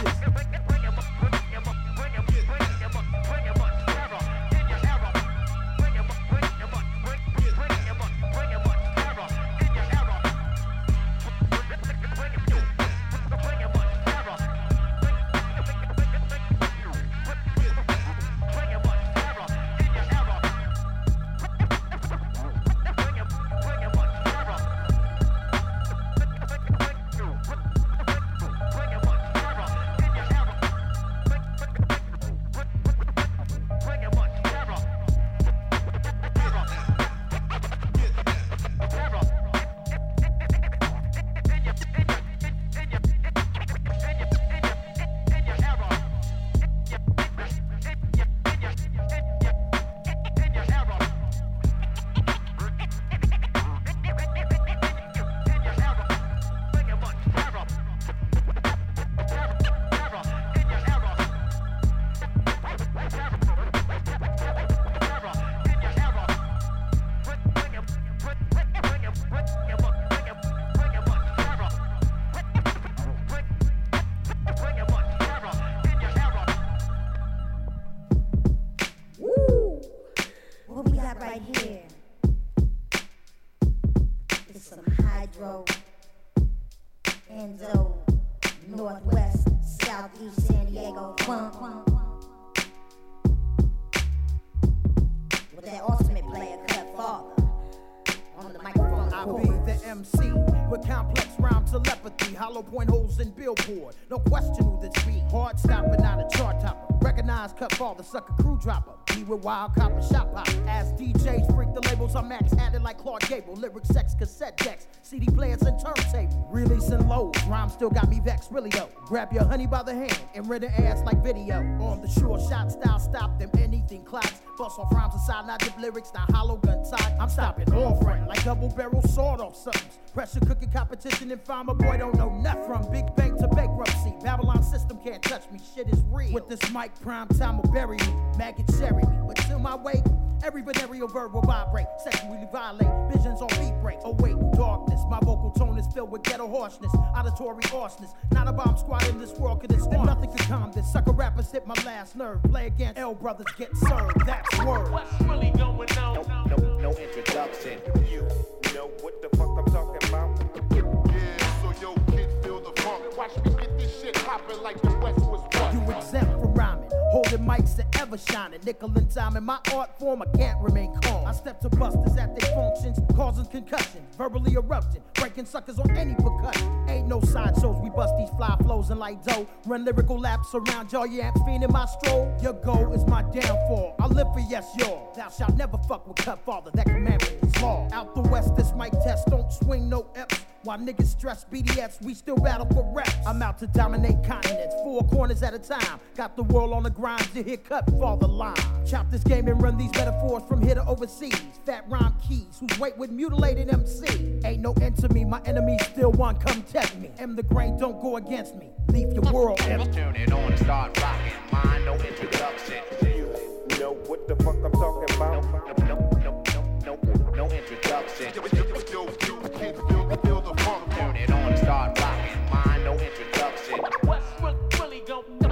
Speaker 12: Point holes in billboard. No question who this be. Hard stopper, not a chart topper. Recognize cut fall, the sucker crew dropper. Be with wild copper shop hop. As DJs freak the labels, I'm max added like Clark Gable. Lyric sex, cassette decks, CD players and turntable. Releasing lows, rhyme still got me vexed, really though. Grab your honey by the hand and render ass like video. On the shore, shot style, stop them, anything clocks. Bust off rhymes aside, not dip lyrics, not hollow gun talk. I'm stopping all front like double barrel sword off solve something. Pressure cooking competition and find my boy don't know nothing. From Big Bang to bankruptcy, Babylon system can't touch me. Shit is real. With this mic, prime time will bury me. Maggot cherry me, but to my weight, every venereal verb will vibrate. Sexually violate, visions on beat break. Await darkness, my vocal tone is filled with ghetto harshness, auditory harshness. Not a bomb squad in this world could extend. Nothing could calm this. Sucker rappers hit my last nerve. Play against L brothers get served. That's word.
Speaker 9: What's really going on?
Speaker 11: No introduction. You know what the fuck I'm talking about?
Speaker 13: Yeah, so yo, kid, feel the funk. Watch me get this shit poppin' like the West was what?
Speaker 12: You exempt from rhyming, holding mics that ever shining. Nickel and dime in my art form, I can't remain calm. I step to busters at their functions, causing concussions, verbally erupting, breaking suckers on any percussion. Ain't no sideshows, we bust these fly flows and like dough. Run lyrical laps around y'all, you ain't fiending my stroll. Your goal is my downfall. I live for yes, y'all. Thou shalt never fuck with cut father, that commandment is law. Out the west, this mic test don't swing no F's. While niggas stress BDFs, we still battle for reps. I'm out to dominate continents, 4 corners at a time. Got the world on the grind to hear cut father line. Chop this game and run these metaphors from here to overseas. Fat rhyme keys, whose weight with mutilated MC. Ain't no end to me, my enemies still want come test me. M the grain, don't go against me. Leave your world empty.
Speaker 11: Turn it on and start rocking. Mind, no introduction. You know what the fuck I'm talking about? No introduction.
Speaker 13: Yo, kid, feel the funk.
Speaker 11: Turn it on and start rocking. Mind, no introduction.
Speaker 9: What's really going on?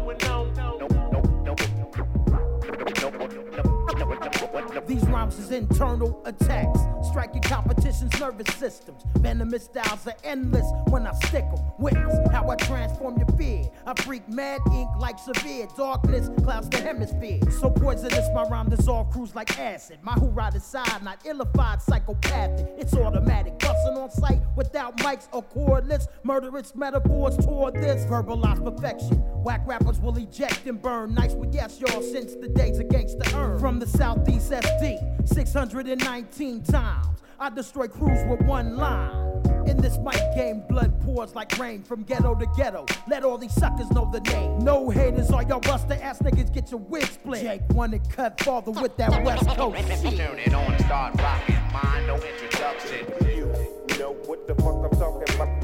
Speaker 12: These rhymes is internal attacks, striking competition's nervous systems. Venomous styles are endless when I stick 'em. Witness how I transform your fear. I freak mad ink like severe darkness clouds the hemisphere. So poisonous my rhyme dissolve crews like acid. My hoorah decide, not illified, psychopathic. It's automatic, busting on sight without mics or cordless. Murderous metaphors toward this verbalized perfection. Whack rappers will eject and burn. Nice with yes, y'all, since the days of gangsta earn. From the southeast SD, 619 times I destroy crews with one line. In this mic game, blood pours like rain from ghetto to ghetto. Let all these suckers know the name. No haters, all y'all buster ass niggas get your wig split. Jake wanted cut father with that West Coast shit.
Speaker 11: Turn it on and start rocking. Mind, no introduction. You know what the fuck I'm talking about?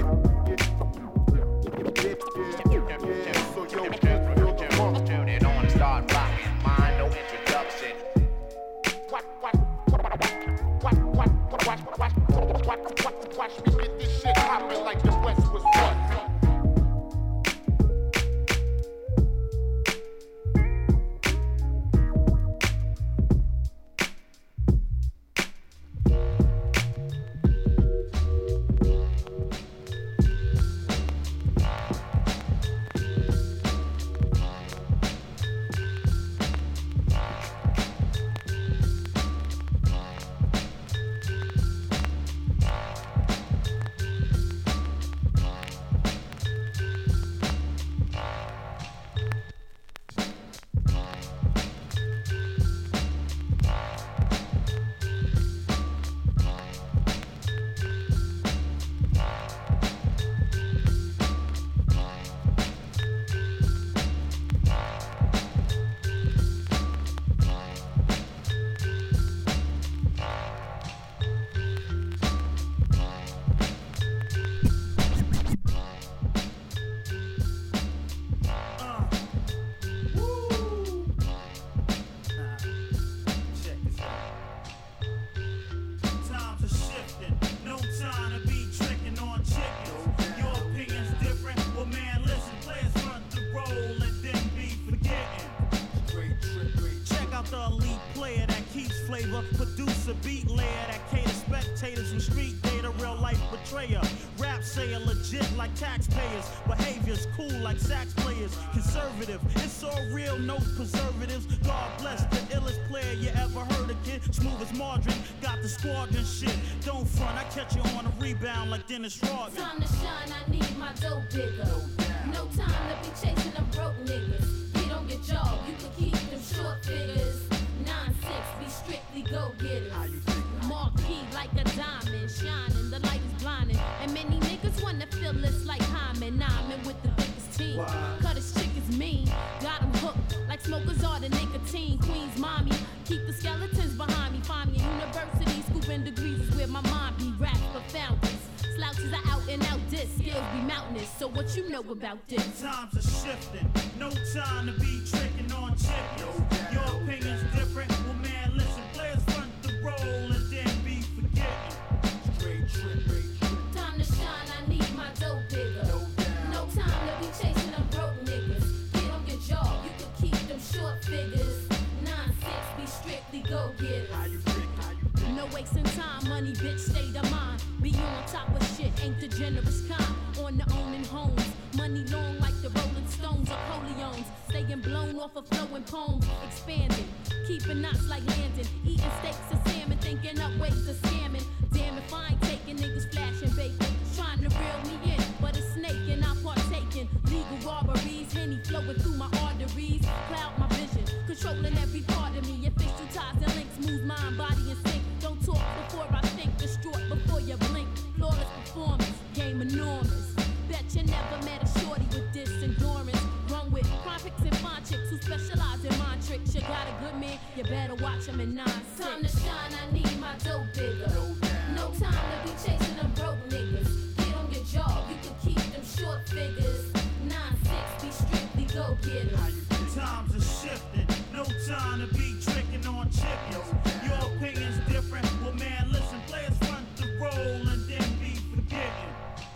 Speaker 11: Turn it on and start rocking. Mind, no introduction.
Speaker 13: Watch me get this shit poppin' like the West was what?
Speaker 14: Producer, beat layer that cater spectators from street data, real life betrayer. Rap sayer legit like taxpayers. Behaviors cool like sax players. Conservative, it's all real, no preservatives. God bless the illest player you ever heard of, kid. Smooth as margarine, got the squadron shit. Don't front, I catch you on a rebound like Dennis Rodman.
Speaker 15: Time to shine, I need my dough bigger. No time to be chasing them broke niggas. Get on your job, you can keep them short figures. 9-6, be strictly go-getters. Marquee like a diamond, shining, the light is blinding. And many niggas wanna feel this like Hyman. I'm in with the biggest team. Cut his chick is mean, got him hooked like smokers are the nicotine. Queen's mommy, keep the skeletons behind me. Find me at university, scooping degrees is where my mind be. Rap She's an out and out diss, skills be mountainous. So what you know about this?
Speaker 14: Times are shifting, no time to be tricking on chickens. Your opinion's different, well man, listen, players front the role and then be forgetting. Straight trick.
Speaker 15: Time to shine, I need my dough bigger. No time to be chasing them broke niggas. Get on your job, you can keep them short figures. 9-6, be strictly go getters. No wasting time, money bitch, state of mind. Be on top of shit, ain't the generous kind. On the owning homes, money long like the Rolling Stones or Coleones. Staying blown off of flowing poems, expanding. Keeping knots like landing, eating steaks and salmon, thinking up ways of scamming. Damn if I ain't taking niggas flashing bacon, trying to reel me in, but a snake and I'm partaking. Legal robberies, Henny flowing through my arteries, cloud my vision, controlling every part of me. Official ties and links, move mind, body and sync. Don't talk before I think, distraught before you blink. Flawless performance, game enormous. Bet you never met a shorty with this endurance. Run with prophets and fine chicks who specialize in mind tricks. You got a good man, you better watch him in 9-6. Time to shine, I need my dough bigger. No time to be chasing them broke niggas. Get on your job, you can keep them short figures. 9-6, be strictly go getters.
Speaker 14: Times are shifting, no time to be tricking on chickens. Your opinion's different, well man, listen, players front the role and then be forgetting.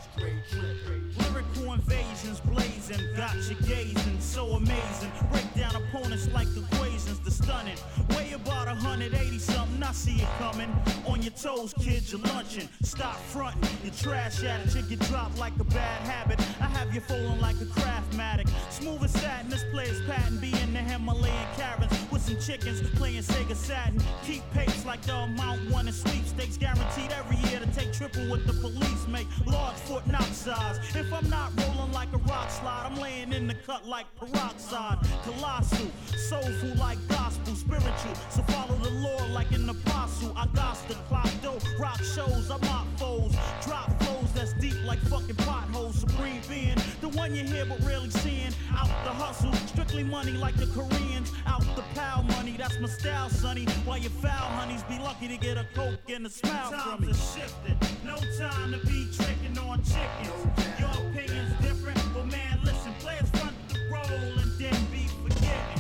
Speaker 14: Lyrical invasions blazing, got you gazing, so amazing. Break down opponents like equations, the stunning. Weigh about 180 something, I see it coming. On your toes, kid, you're lunching. Stop fronting, you trash at it, you get dropped like a bad habit. I have you falling like a Craftmatic. Smooth as satin, this player's patent. Be in the Himalayan caverns with some chickens playing Sega Saturn. Keep pace like the amount won in sweepstakes. Guaranteed every year to take triple what the police make. Large foot, not size. If I'm not rolling like a rock slide, I'm laying in the cut like peroxide. Colossal, soulful like gospel, spiritual. So follow the Lord like an apostle. I got the clock dough, rock shows, I mock foes. Drop flows that's deep like fucking potholes. Supreme being, the one you hear but rarely seeing. Out the hustle, strictly money like the Koreans. Out the pal money, that's my style, sonny. While you foul honeys, be lucky to get a Coke and a smile from me. Times are shifting, no time to be tricking on chickens. Your opinion's different, but man, listen, players front the role and then be forgetting.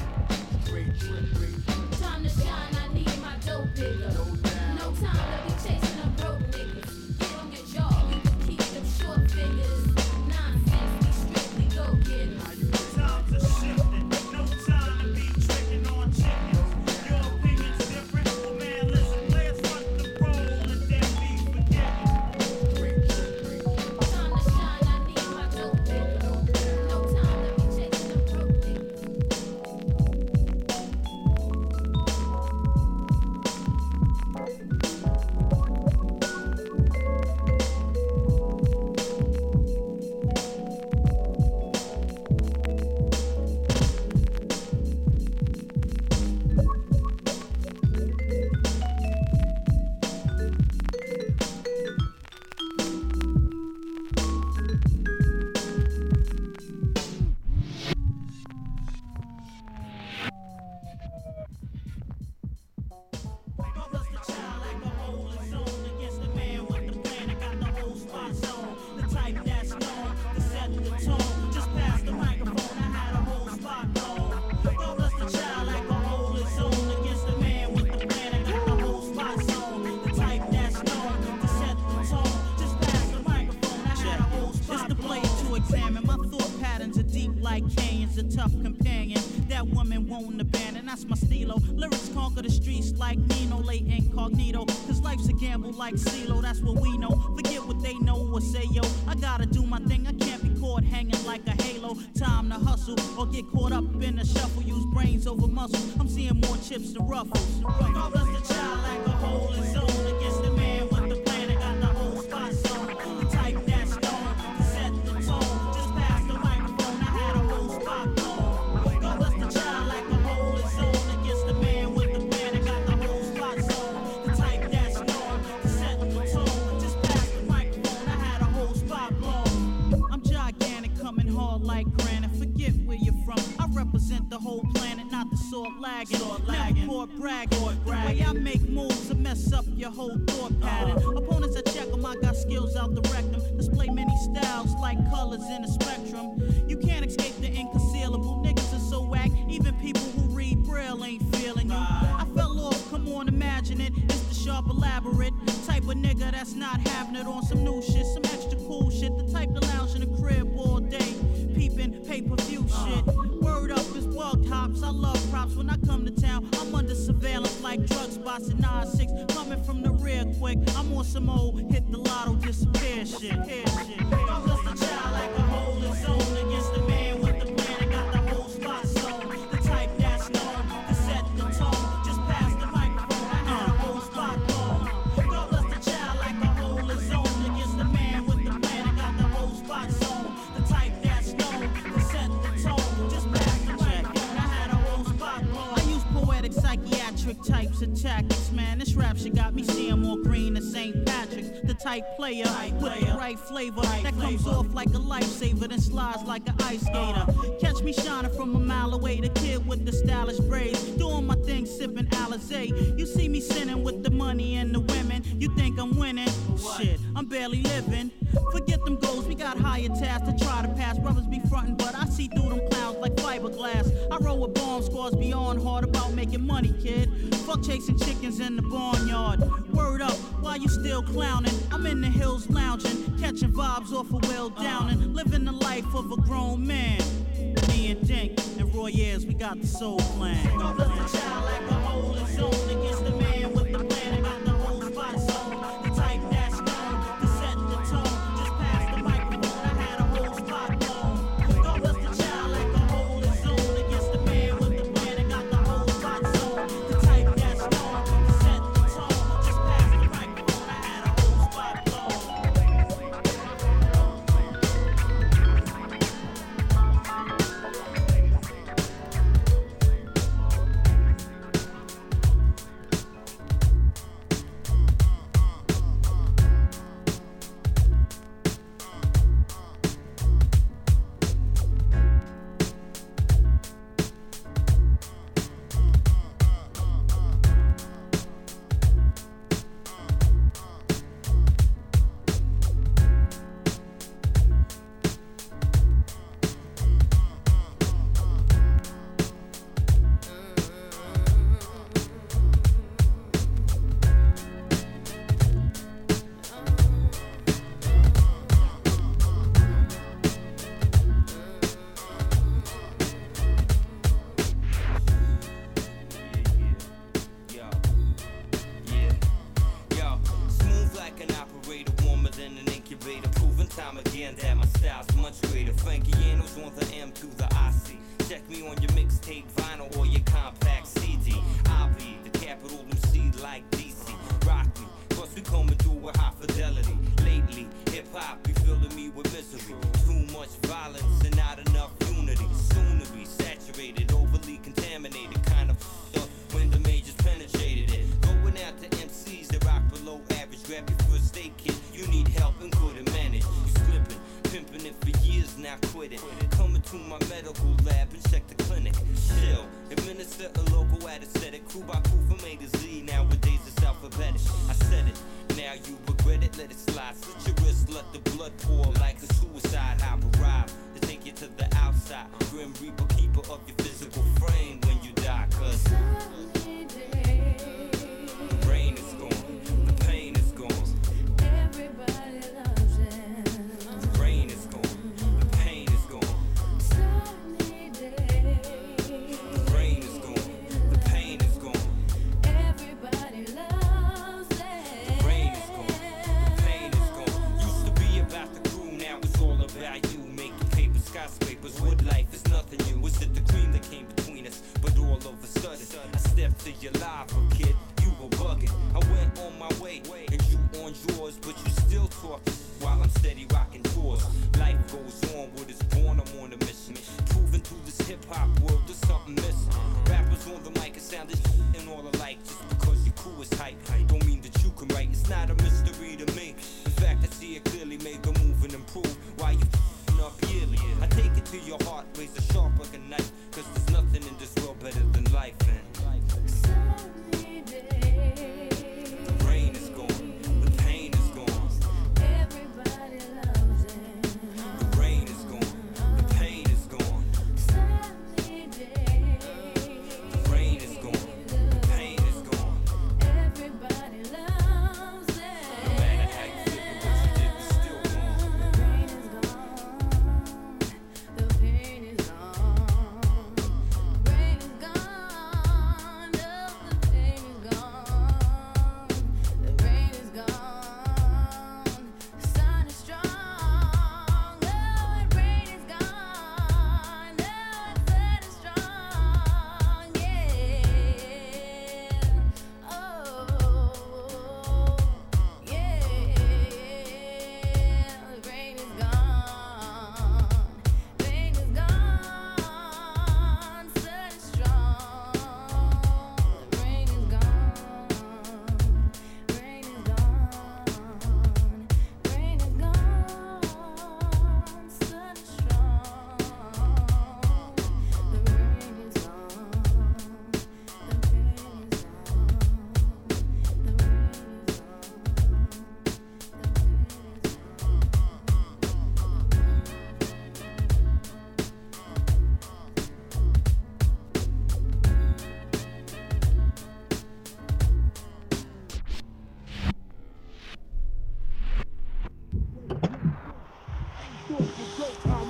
Speaker 15: Time to shine, I need my dough bigger. No time to be chasing them broke niggas. Get on your job, you can keep them short figures. 9-6, be strictly go getters.
Speaker 14: Times are shifting, no time to be tricking on chickens. Your opinion's different, but man, listen, players front the role and then be forgetting.
Speaker 15: Time to shine, I need my dough bigger. No time to be chasing them broke niggas.
Speaker 14: Like canyons, a tough companion. That woman won't abandon, that's my stilo. Lyrics conquer the streets like Nino, late incognito. Cause life's a gamble like CeeLo, that's what we know. Forget what they know or say, yo. I gotta do my thing, I can't be caught hanging like a halo. Time to hustle or get caught up in a shuffle. Use brains over muscle, I'm seeing more chips than ruffles. Regardless the child like a hole in zone. Against the man with the plan, I got the whole spot zone. The type that's known to set the tone. Just pass the microphone, I had a whole spot blown. Regardless the child like a hole in zone. Against the man with the plan, I got the whole spot zone. The type that's known to set the tone. Just pass the microphone, I had a whole spot blown. I'm gigantic, coming hard like granite. Forget where you're from, I represent the whole planet, not the sword lagging. Never court bragging. The way I make moves, I mess up your whole thought pattern. Opponents I check them, I got skills out the rectum. like colors in a spectrum. You can't escape the inconcealable. Niggas are so whack, even people who read Braille ain't feeling you. I fell off, come on, imagine it. It's the sharp, elaborate type of nigga that's not having it on some new shit, some extra cool shit. The type to lounge in the crib all day, peeping pay-per-view shit. Word up, it's bugged hops. I love props when I come to town. I'm under surveillance like drug spots at 9-6. Coming from the rear quick. I'm on some old hit the lotto, disappear shit. I'm just a child like a hole in zone against the man with the plan and got the whole spot sewn. The type that's known to set the tone. Just pass the microphone, I had a whole spot blown. I'm just a child like a hole in zone against the man with the plan and got the whole spot sewn. The type that's known to set the tone. Just pass the microphone, I had a whole spot blown. I use poetic psychiatric types of tactics, man. This rap shit got me seeing more green than St. Patrick's. The type player with the right flavor that comes off like a lifesaver, then slides like an ice skater. Catch me shining from a mile away, the kid with the stylish braids, doing my thing, sipping Alizé. You see me sinning with the money and the women. You think I'm winning? Shit, I'm barely living. Forget them goals, we got higher tasks to try to pass. Brothers be frontin', but I see through them clouds like fiberglass. I roll with bomb squads beyond hard about making money, kid. Fuck chasing chickens in the barnyard. Word up, while you still clowning, I'm in the hills lounging, catching vibes off of Will Downing, living the life of a grown man. Me and Dink and Roy Ayers, we got the soul plan. I'm just a child like a hole in zone against the man with the plan and got the whole spot zone. The type that's known to set the tone. Just pass the microphone, I had a whole spot blown. I'm just a child like a hole in zone against the man with the plan and got the whole spot zone. The type that's known to set the tone. Just pass the microphone, I had a whole spot blown.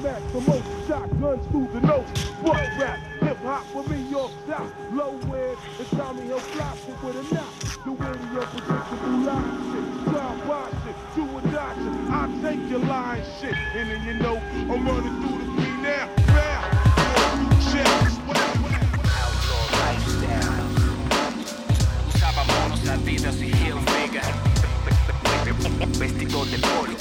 Speaker 3: match the most shotguns through the nose. Fuck rap, hip hop for me, York stop. Low end, it's Tommy Hill flops it with a knock. The witty unpredictable line shit. Drive by shit, do or die shit. I take your line shit. And then you know, I'm running through the beat now. Rap, outlaw
Speaker 11: lifestyle. Usábamos la vida así Hilfiger. Vestido de polo.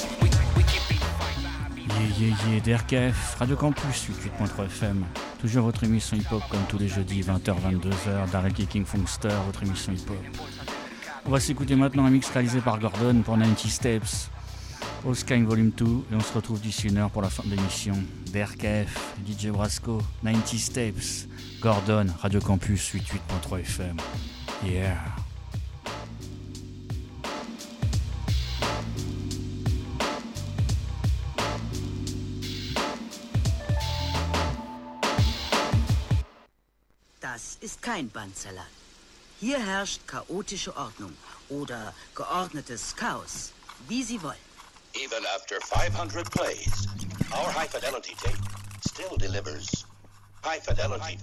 Speaker 2: Yeah, DRKF, Radio Campus, 88.3 FM. Toujours votre émission hip-hop comme tous les jeudis, 20h-22h. Daryl King Funkster, votre émission hip-hop. On va s'écouter maintenant un mix réalisé par Gordon pour 90 Steps, All Sky Volume 2, et on se retrouve d'ici une heure pour la fin de l'émission. DRKF, DJ Brasco, 90 Steps, Gordon, Radio Campus, 88.3 FM. Yeah.
Speaker 16: Das ist kein Bandsalat. Hier herrscht chaotische Ordnung oder geordnetes Chaos, wie Sie wollen.
Speaker 17: Even after 500 plays, our high-fidelity tape still delivers high fidelity.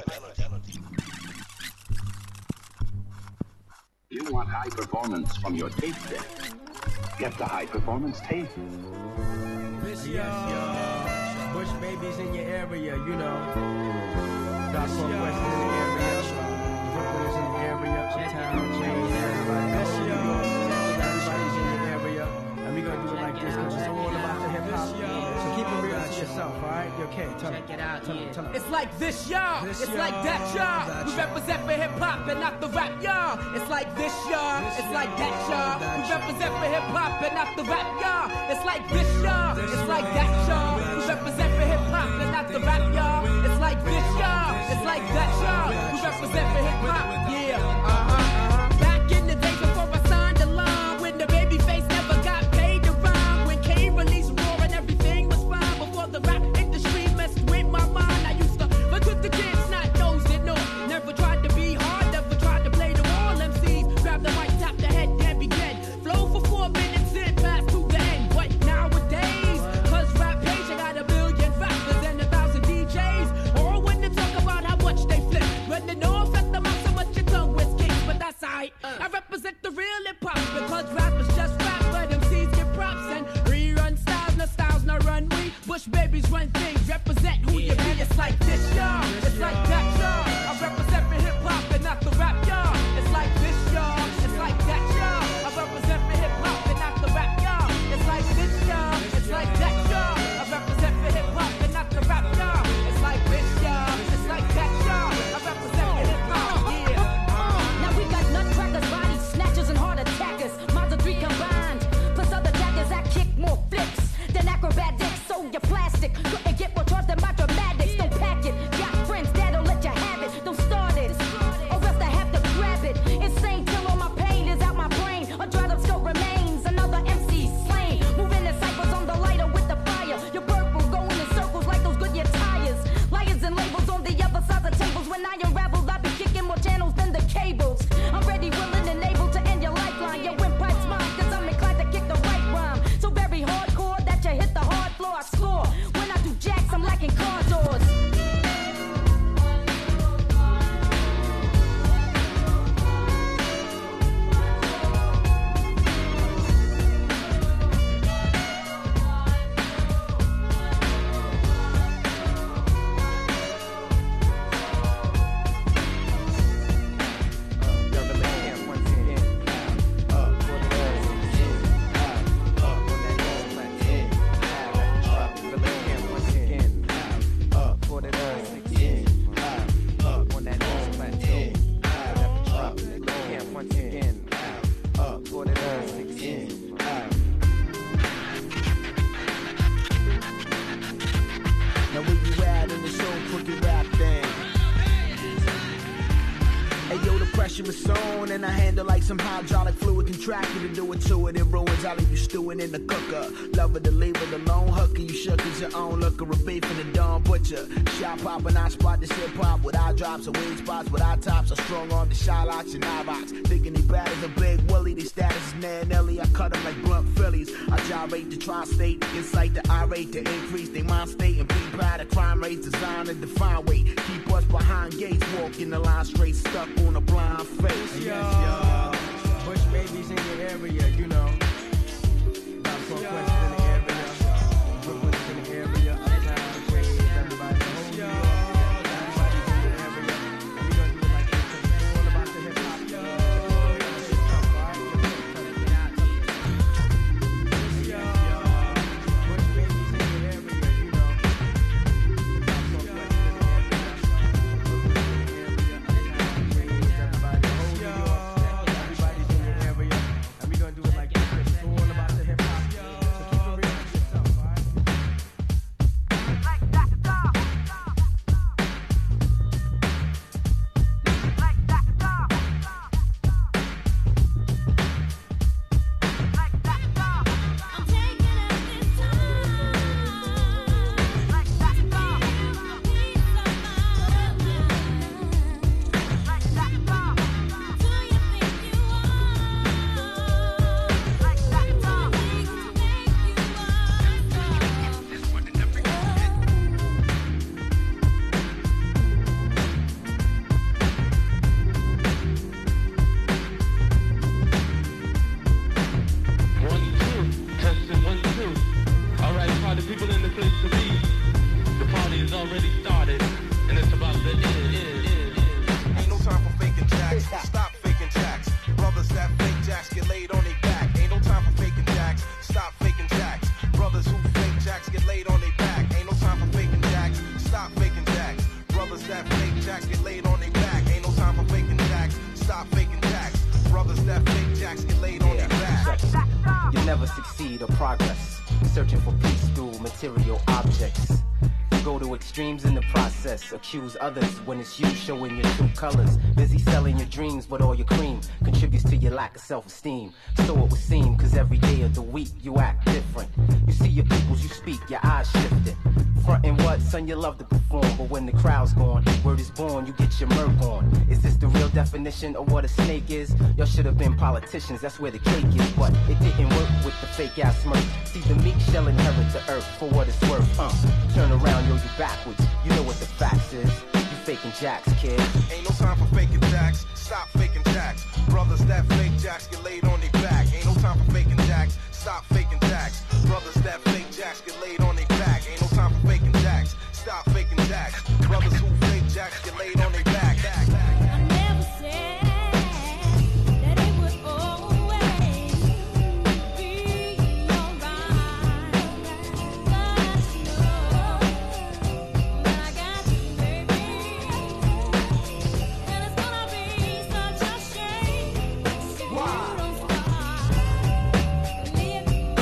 Speaker 18: You want high performance from your tape deck? Get the high-performance tape.
Speaker 8: This Bush babies in your area, you know. Dark Northwest in the area. Brooklyn is in the area. Town, James, everybody. Everybody's in the area. And we gonna do it like this, because it's all about the hip-hop. So keep it real to yourself, alright? Okay, check it out. Tell me.
Speaker 19: It's like this, y'all. It's like that, y'all. We represent for hip-hop and not the rap, y'all. It's like this, y'all. It's like that, y'all. We represent for hip-hop and not the rap, y'all. It's like this, y'all. It's like that, y'all. We represent for hip-hop and not the rap, y'all. It's like this, y'all. It's like that, y'all. We represent for hip-hop, yeah. Back in the days before I signed the line, when the baby face never got paid to rhyme, when Kane released Raw and everything was fine, before the rap industry messed with my mind, I used to fuck with the kids, not those that know. Never tried to be hard, never tried to play the wall. MCs grab the mic, tap the head, then begin. Flow for 4 minutes, then pass to the end. But nowadays, cause rap page, I got 1 billion rappers and 1,000 DJs. All when they talk about how much they flip. When they know affect them out so much your tongue with kicks, but that's alright. I represent the real hip hop because rappers just rap, but MCs get props and rerun styles, no run we. Bush babies run things, represent who you be. It's like this, y'all. It's like that, y'all. I represent for hip hop and not the rap, y'all. It's like this, y'all. It's like that, y'all. I represent for hip hop and not the rap, y'all. It's like this, y'all. It's like that, y'all. I represent for hip hop and not the rap, y'all. It's like this, y'all. It's like that, y'all. I represent for hip hop, yeah.
Speaker 20: Now we got nutcrackers, body snatchers, and heart attackers. Minds of 3 combined. Plus other jackers that kick more flips than acrobatics. So you're plastic. Couldn't get more charged than my dramatics. Don't pack it. Got friends that'll let you have it. Don't start it, or else I have to grab it. Insane till all my pain is out my brain. A dried up still remains. Another MC slain. Moving in cycles on the lighter with the fire. Your purple going in circles like those Goodyear tires. Liars and labels on the other side of tables. When I unravel, I be kicking more channels than the cables. I'm ready, willing, and able to end your lifeline. Your windpipe's mine, cause I'm inclined to kick the right rhyme. So very hardcore that you hit the hard floor. I score. When I do jacks, I'm lacking car doors.
Speaker 8: Now where you at in this old crooked rap thing? Hey yo, the pressure
Speaker 21: pressure is on, and I handle like some hydraulic fluid contracted to do it to it. It ruins, I leave you stewing in the cooker. Love it to leave it alone, hooker. You shook as your own looker, a beef in the dawn butcher. Shot poppin', I spot this hip hop with eye drops and weed spots with eye tops. I strong on the shot locks and eye box. Thinking he bad as a big Willie, the status is Nan Nelly. I cut him like blunt Phillies. I gyrate the tri-state, incite the irate to increase their mind state and be proud of crime rates designed to define weight. Keep us behind gates, walking the line straight, stuck on a blind face.
Speaker 22: Yes, Bush babies in your area, you know. About to West in the area, Brooklyn's in the area, uptown, Queens, everybody in the whole New York. Everybody's in the area, and we gonna do it like this, 'cause it's all about the hip hop. Bush babies in your area, you know. About to West in the area, everybody in the whole New York. Everybody's in the area, and we gonna do it like this, 'cause it's all about the hip hop. So keep it real with yourself, alright?
Speaker 23: Testing 1, 2. All right, party people in the place to be. The party has already started, and it's about to end.
Speaker 6: Ain't no time for faking jacks. Stop faking jacks. Brothers that fake jacks get laid on their back. Ain't no time for faking jacks. Stop faking jacks. Brothers who fake jacks get laid on their back. Ain't no time for faking jacks. Stop faking jacks. Brothers that fake jacks get laid on their back. Ain't no time for faking jacks. Stop faking jacks. Brothers that fake jacks get laid on their back.
Speaker 24: You'll never succeed or progress, searching for peace through material objects. You go to extremes in the process, accuse others when it's you showing your true colors. Busy selling your dreams, but all your cream contributes to your lack of self-esteem. So it would seem, cause every day of the week you act different. You see your peoples, you speak, your eyes shifting. Frontin' what, son, you love to perform, but when the crowd's gone, word is born, you get your murk on. Is this the real definition of what a snake is? Y'all should have been politicians, that's where the cake is. But it didn't work with the fake ass smirk. See, the meek shall inherit the earth for what it's worth. Turn around, yo, you backwards. You know what the facts is. You faking jacks, kid.
Speaker 6: Ain't no time for faking jacks. Stop faking jacks. Brothers that fake jacks get laid on their back. Ain't no time for faking jacks. Stop faking jacks. Brothers that fake jacks get laid on their back. Ain't no time for faking jacks. Stop faking jacks. Brothers who fake jacks get laid on their back.
Speaker 15: I never said that it would always be alright. But you know that I got you, baby, and it's gonna be such a shame if you don't stop living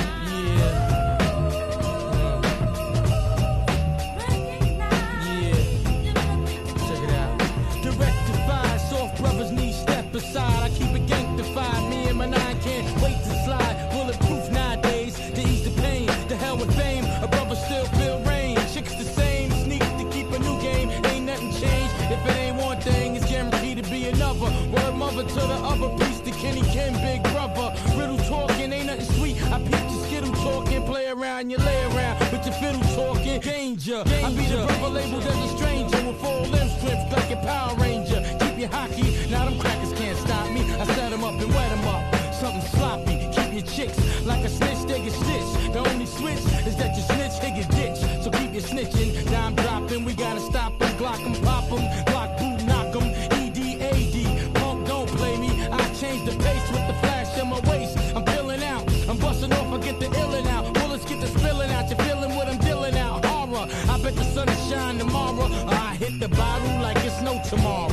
Speaker 8: Check it out. To rectify, soft brothers need step aside. I keep it ganktified. Me and my nine can't wait to slide. Bulletproof nowadays to ease the pain. The hell with fame. A brother still feel rain. Chicks the same. Sneak to keep a new game. Ain't nothing changed. If it ain't one thing, it's guaranteed to be another. Word mother to the other piece. The Kenny Ken big brother. Riddle talking ain't nothing sweet. I peep your skittle talking. Play around, you lay around with your fiddle talking. Danger. I be the brother labeled as a stranger with full limb strength like a Power Ranger. Keep your hockey. Now them crackers can't stop me. I set them up and wet them up. Something sloppy. Keep your chicks like a snitch, they get stitched. The only switch is that you snitch, hit your ditch. So keep your snitching. Dime dropping. We gotta stop them. Glock them, pop them. Glock boot, knock them. EDAD. Punk, don't play me. I change the pace with the flash in my waist. I'm filling out. I'm busting off. I get the illin' out. Bullets get the spilling out. You're feeling what I'm dealing out. Horror. I bet the sun will shine tomorrow. I hit the bottle like it's no tomorrow.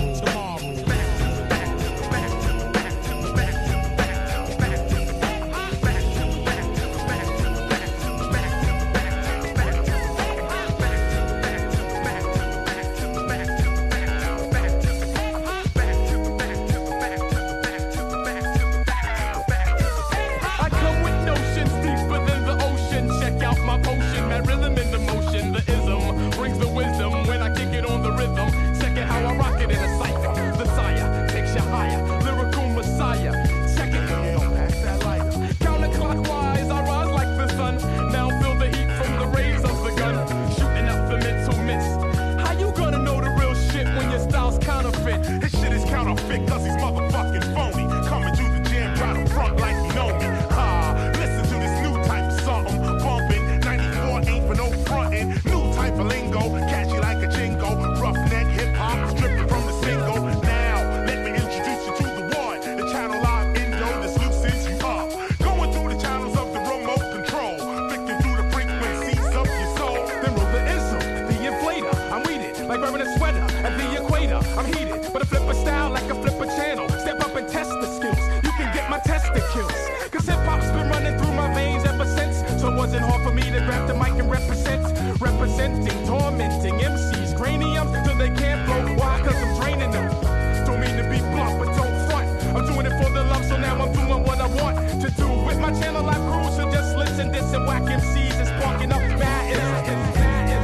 Speaker 6: a lot crucial. Just listen, this and whack MCs is sparking up bad incidents.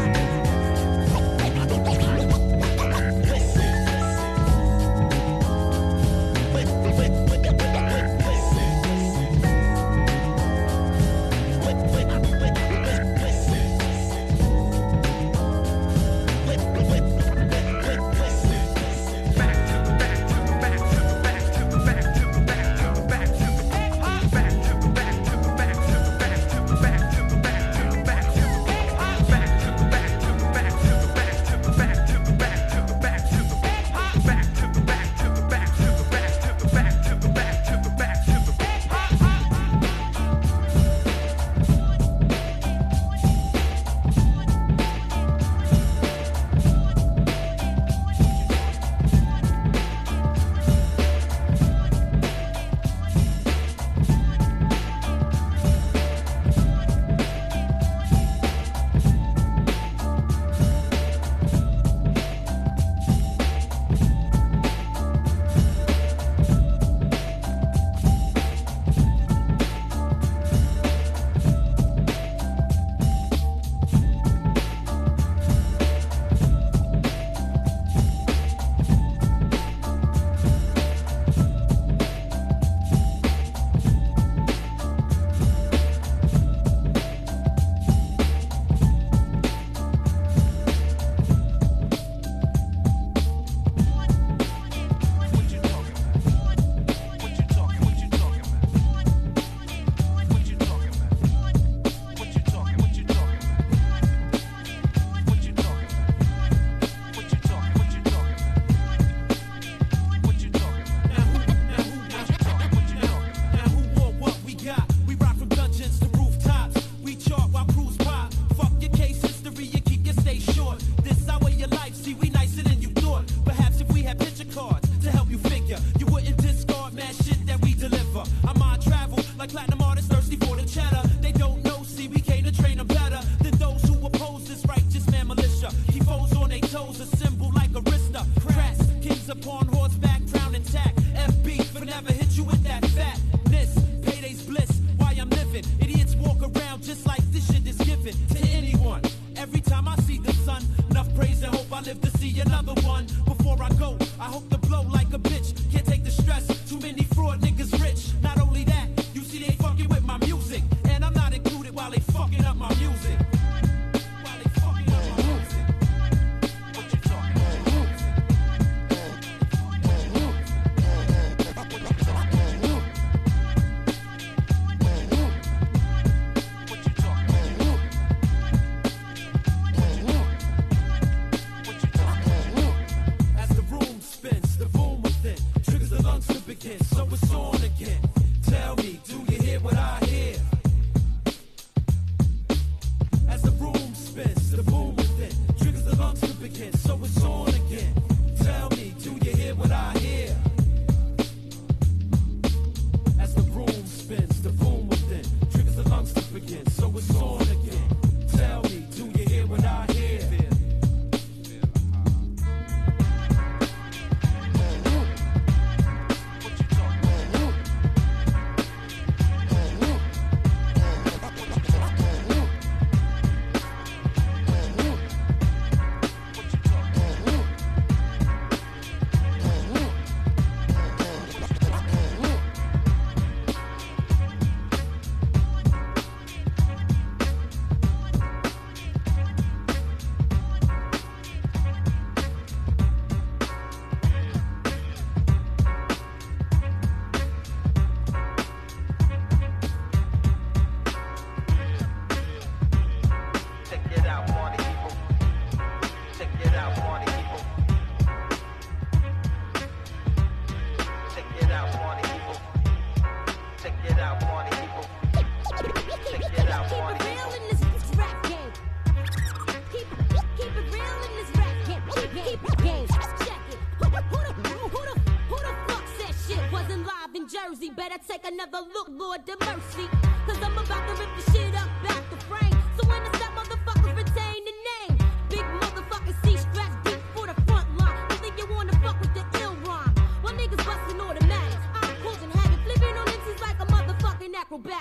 Speaker 15: Jersey, better take another look, Lord have mercy. Cause I'm about to rip the shit up out the frame. So when I stop, motherfuckers retain the name. Big motherfucking C-straps deep for the front line. You think you wanna fuck with the ill rhyme? While niggas busting automatics, I'm causing havoc, flipping on MCs like a motherfucking acrobatic. You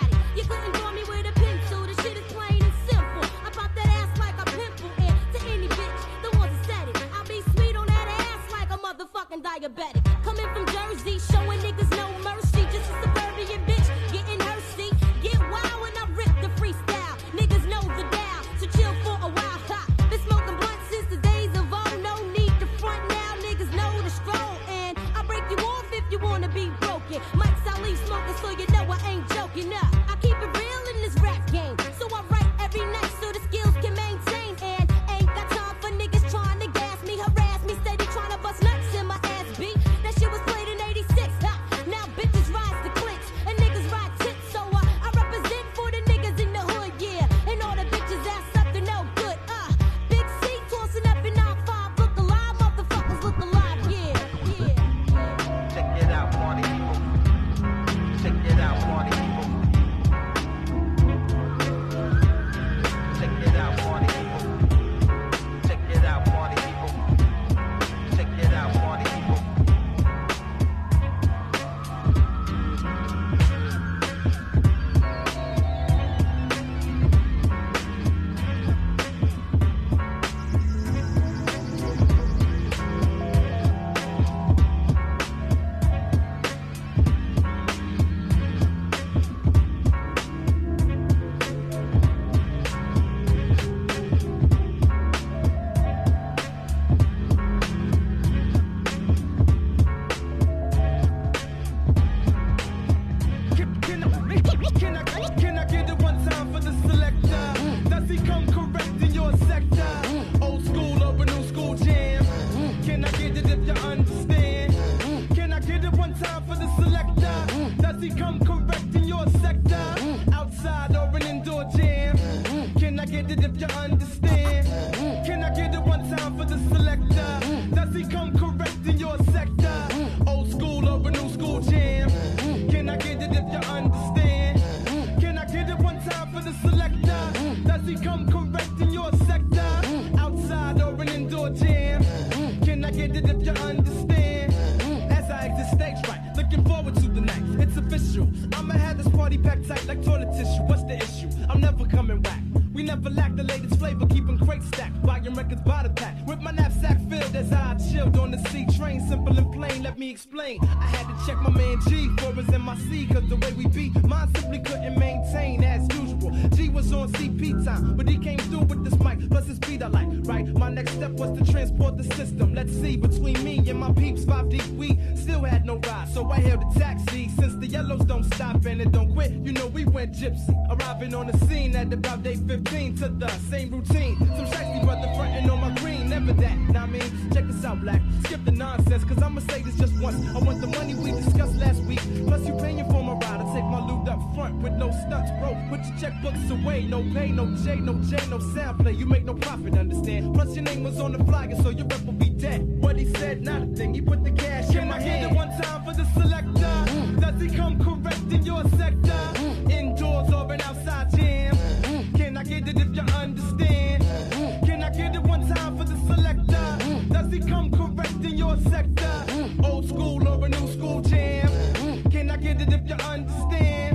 Speaker 15: couldn't draw me with a pencil. The shit is plain and simple. I pop that ass like a pimple. And to any bitch, the ones who said it, I'll be sweet on that ass like a motherfucking diabetic. Coming from Jersey, showing niggas no mercy. Just a suburban bitch, getting her seat. Get wild when I rip the freestyle. Niggas know the dial, so chill for a while. Ha. Been smoking blunt since the days of old. No need to front now, niggas know the stroll. And I'll break you off if you wanna be broken. Mike's I leave smoking, so you know I ain't joking. I keep it real in this rap game, so I write every night so the skills can maintain. And ain't got time for niggas trying to gas me, harass me, steady trying to bust nuts in my ass beat. That shit was played in '86. Ha. Now bitches rise to clicks and niggas ride tits. So I represent for the niggas in the hood, yeah. And all the bitches ass up to no good. Big C tossing up in 9-5, look alive, motherfuckers look alive, yeah.
Speaker 21: Check it out, party people. Check it out, party people. Check it out, party people. Check it out, party people. Check it out, party people. Can I get it one time for the selector? Does he come correct in your sector? Old school or a new school jam? Can I get it if you understand? Can I get it one time for the selector? Does he come correct in your sector? Outside or an indoor jam? Can I get it if you understand? Can I get it one time for the selector? Does he come correct in your sector? Old school or a new school jam? Can I get it if you understand? Can I get it one time for the selector? Does he come correct in your sector? Outside or an indoor jam? Can I get it if you understand? As I exit stage right, looking forward to the night. It's official. I'ma have this party packed tight like toilet tissue. What's the issue? I'm never coming back. We never lack the latest flavor, keeping crates stacked, buying records by the pack. With my knapsack filled as I chilled on the C train, simple and plain. Let me explain. I had to check my man G for us in my C, cause the way we beat, mine simply couldn't maintain as usual. G was on CP time, but he came through with this mic, plus his beat I like, right? My next step was to transport the system. Let's see, between me and my peeps, 5 deep, we still had no ride, so I hailed a taxi. Since the yellows don't stop and it don't quit, you know we went gypsy. Arriving on the scene at about day 15 to the same routine. Some shiesty brother frontin' on my green, never that. Now I mean, check this out, black. Skip the nonsense, cause I'ma say this just once. I want the money we discussed last week. Plus you paying for my ride. I take my loot up front with no stunts, bro. Put your checkbooks away, no pay, no J, no J, no sound play. You make no profit, understand? Plus your name was on the flyer, so your rep will be dead. What he said, not a thing. He put the cash in my hand. Can I get it one time for the selector? Does he come correct in your sector? Indoors or an outside jam? Can I get it if you understand? Can I get it one time for the selector? Does he come correct in your sector? Old school or a new school jam? Can I get it if you understand?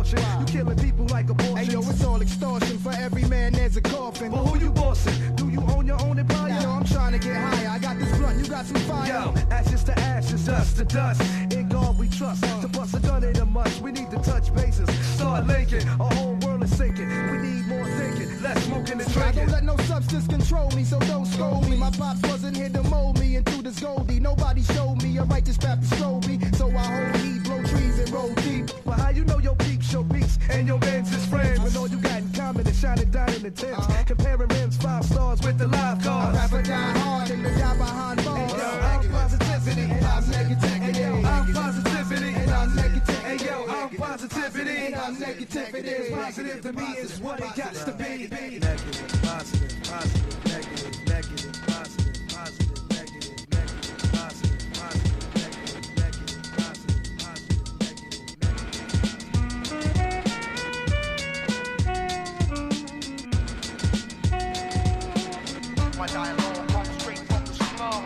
Speaker 1: caution. You killing people like abortion. Hey yo, it's all extortion. For every man there's a coffin. But who you bossing? Do you own your own empire? Yo, I'm trying to get higher. I got this blunt, you got some fire. Yo, ashes to ashes, dust to dust. In God we trust. To bust a gun in a must, we need to touch bases. Start linking, our whole world is sinking. We need more thinking, less smoking and drinking. I don't let no substance control me, so don't scold me. My pops wasn't here to mold me into this Goldie. Nobody showed me a righteous path to show me. So I hold heat, blow trees and roll deep. Well, how you know your peeps show beats and your man's his friends? When all you got in common is shining down in the tents. Comparing rims 5 stars with the live cars. I rapper die hard and the guy behind bars. Hey, yo, I'm positivity and I'm negativity. I'm positivity and I'm negativity. Hey yo, I'm positivity and I'm negativity. Positive to me is what it got to be. Negative, positive, positive, negative, negative, positive, positive, negative, negative, positive, positive, negative, negative, positive, positive,
Speaker 11: My dialogue comes straight from the small.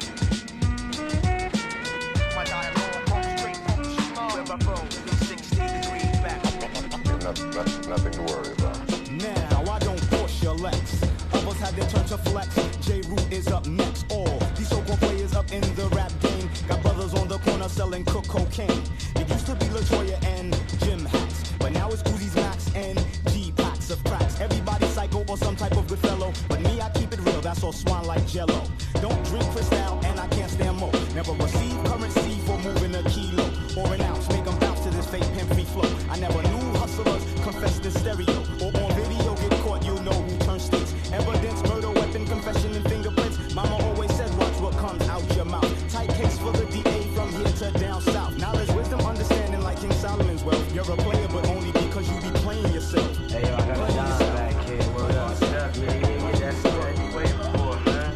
Speaker 11: My dialogue comes straight from the small. Where I roll, 360 degrees back.
Speaker 4: Nothing to worry about.
Speaker 5: Now I don't push your legs. Others have their turn to flex. J. Root is up next. All these so-called players up in the rap game got brothers on the corner selling cocaine. It used to be LaToya and Jim Hats, but now it's Uzi's Max and G packs of cracks. Everybody psycho or some type of good fellow, but me I keep it real. That's all swan like Jello. Don't drink Cristal and I can't stand more. Never receive currency for moving a kilo or an ounce. Make them bounce to this fake pimp free flow. I never knew hustlers confessed in stereo or on video get caught. You know who turns states. Evidence, murder, weapon, confession, and fingerprints. Mama always said, watch what comes out your mouth. Tight case for the DA from here to down south. Knowledge, wisdom, understanding like King Solomon's wealth. You're a player, but only because you be playing yourself.
Speaker 24: Hey, yo, I got a job back, kid. Word up. Yeah, that's what you waiting for, man.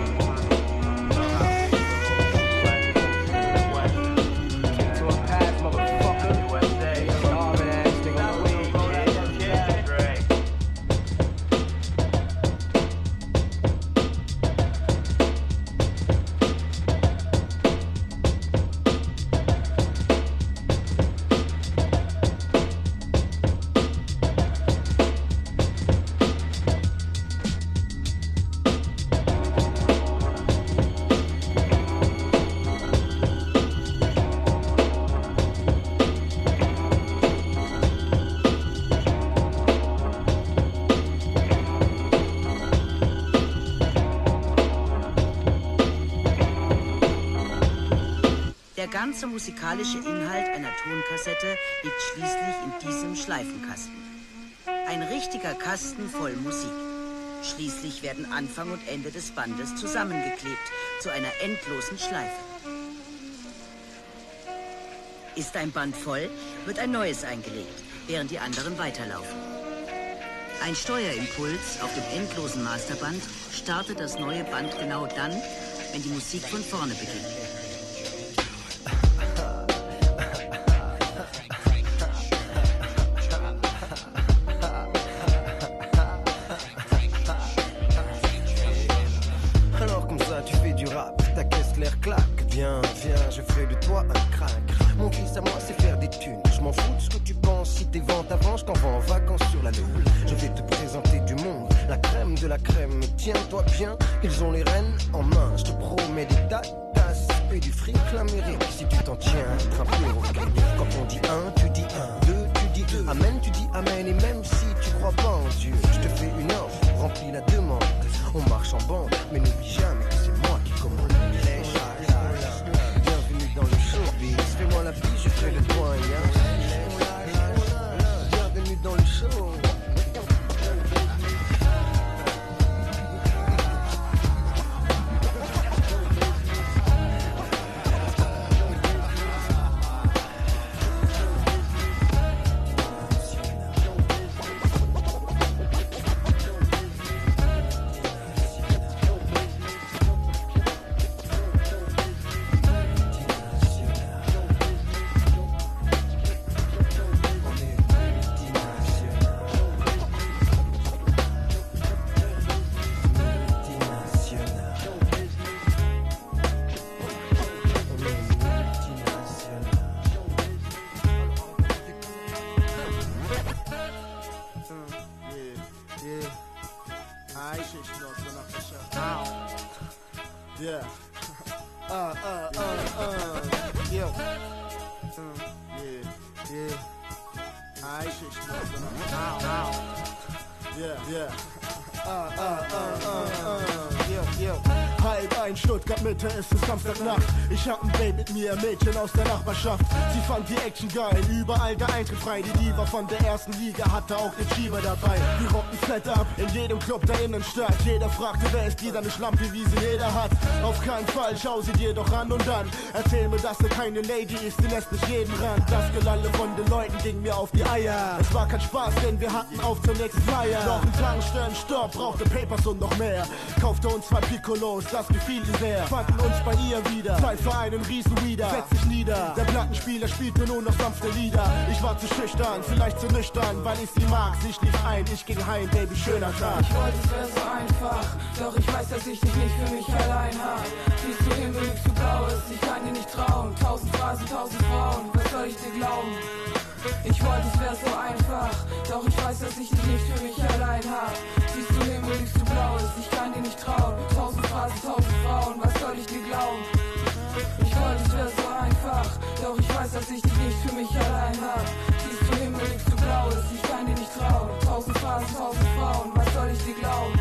Speaker 24: Kick to a pass, motherfucker. USA, starving ass nigga. Weed, kid. Yeah, great.
Speaker 16: Der ganze musikalische Inhalt einer Tonkassette liegt schließlich in diesem Schleifenkasten. Ein richtiger Kasten voll Musik. Schließlich werden Anfang und Ende des Bandes zusammengeklebt zu einer endlosen Schleife. Ist ein Band voll, wird ein neues eingelegt, während die anderen weiterlaufen. Ein Steuerimpuls auf dem endlosen Masterband startet das neue Band genau dann, wenn die Musik von vorne beginnt.
Speaker 7: Alors comme ça tu fais du rap, ta caisse l'air claque. Viens, viens, je fais de toi un crack. Mon fils à moi c'est faire des thunes. Je m'en fous de ce que tu penses. Si tes ventes avancent, quand on va en vacances sur la lune. Je vais te présenter du monde, la crème de la crème. Tiens-toi bien, ils ont les rênes en main. Je te promets des tasses et du fric l'Amérique. Si tu t'en tiens, être un perroquet. Quand on dit un, tu dis un, deux, tu dis deux. Amen, tu dis amen. Et même si tu crois pas en Dieu, je te fais une offre, remplis la demande. On marche en bande, mais n'oublie jamais que c'est moi qui commande. Bienvenue dans le showbiz. Fais-moi la bise, je fais le doigt. Bienvenue dans le show.
Speaker 21: Yeah. Alright, shit, you know, so not for sure. Yeah. Yo. Yeah. Alright, shit, you know, so not for sure. Yeah. Halb ein, Stuttgart Mitte, es ist Samstagnacht. Ich hab ein Date mit mir, Mädchen aus der Nachbarschaft. Sie fand die Action geil, überall der Eintritt frei. Die Diva von der ersten Liga hatte auch den Schieber dabei. Die rocken fett ab, in jedem Club der Innenstadt. Jeder fragte, wer ist die, deine Schlampe, wie sie jeder hat. Auf keinen Fall, schau sie dir doch an und dann erzähl mir, dass sie keine Lady ist, die lässt nicht jeden ran. Das Gelalle von den Leuten ging mir auf die Eier. Es war kein Spaß, denn wir hatten auf zur nächsten Feier. Noch ein Tankstellen, Stopp, brauchte Papers und noch mehr. Kaufte uns 2 Piccolos, das gefiel ihr sehr. Fanden uns bei ihr wieder, Zeit für einen Riesenwieder. Setz dich nieder, der Plattenspieler spielte nur noch sanfte Lieder. Ich war zu schüchtern, vielleicht zu nüchtern, weil ich sie mag. Sie schlief ein, ich ging heim, Baby, schöner Tag.
Speaker 9: Ich wollte, es wäre so einfach, doch ich weiß, dass ich dich nicht für mich allein hab. Siehst du Himmel, liegst du Blaues, ich kann dir nicht trauen. 1000 Phrasen, 1000 Frauen, was soll ich dir glauben? Ich wollte, es wäre so einfach, doch ich weiß, dass ich dich nicht für mich allein hab. Siehst du Himmel, liegst du Blaues, ich kann dir nicht trauen. 1000 Phrasen, 1000 Frauen, was soll ich dir glauben? Ich wollte, es wäre so einfach, doch ich weiß, dass ich dich nicht für mich allein hab. Siehst du Himmel, liegst du Blaues, ich kann dir nicht trauen. 1000 Phrasen, 1000 Frauen, was soll ich dir glauben?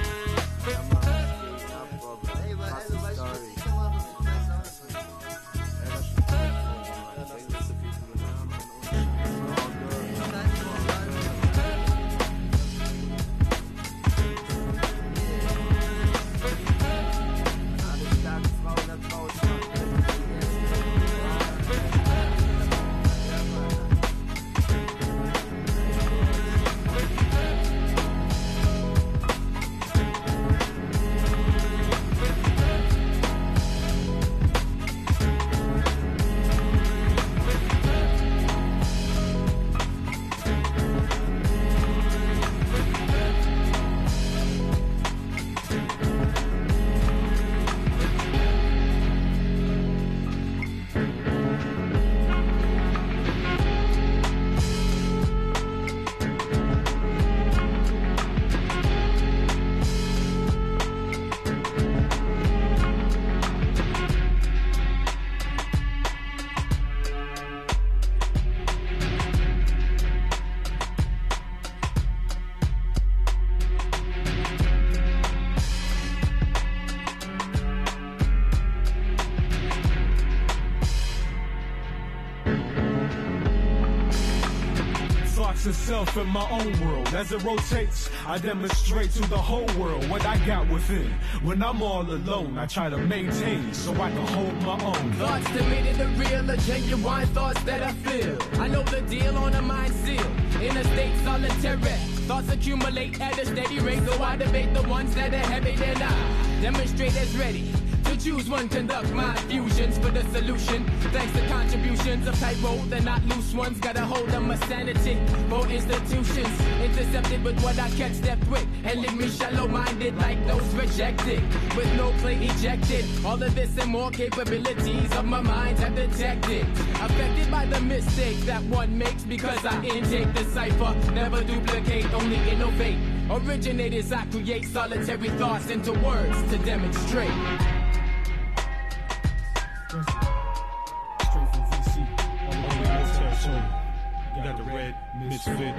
Speaker 10: Itself in my own world. As it rotates, I demonstrate to the whole world what I got within. When I'm all alone, I try to maintain so I can hold my own.
Speaker 8: Thoughts to me that the real or genuine thoughts that I feel. I know the deal on a mind seal. In a state solitary, thoughts accumulate at a steady rate. So I debate the ones that are heavy, then I demonstrate as ready. To choose one, conduct my fusions for the solution. Thanks to contributions of type O, they're not loose ones. Got a hold of my sanity for institutions. Intercepted with what I catch step with. And leave me shallow-minded like those rejected. With no play ejected. All of this and more capabilities of my mind have detected. Affected by the mistakes that one makes because I intake the cipher. Never duplicate, only innovate. Originators, I create solitary thoughts into words to demonstrate.
Speaker 10: Straight from VC, all the way to territory. You got the red misfit.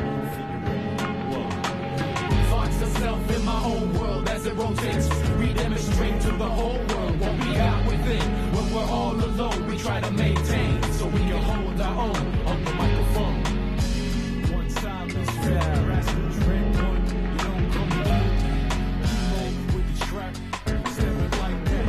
Speaker 8: Thoughts of self in my own world as it rotates. We demonstrate to the whole world what we got within. When we're all alone, we try to maintain so we can hold our own on the microphone.
Speaker 10: One silence, fast and drink one. You don't come through. With the track, stepping like that.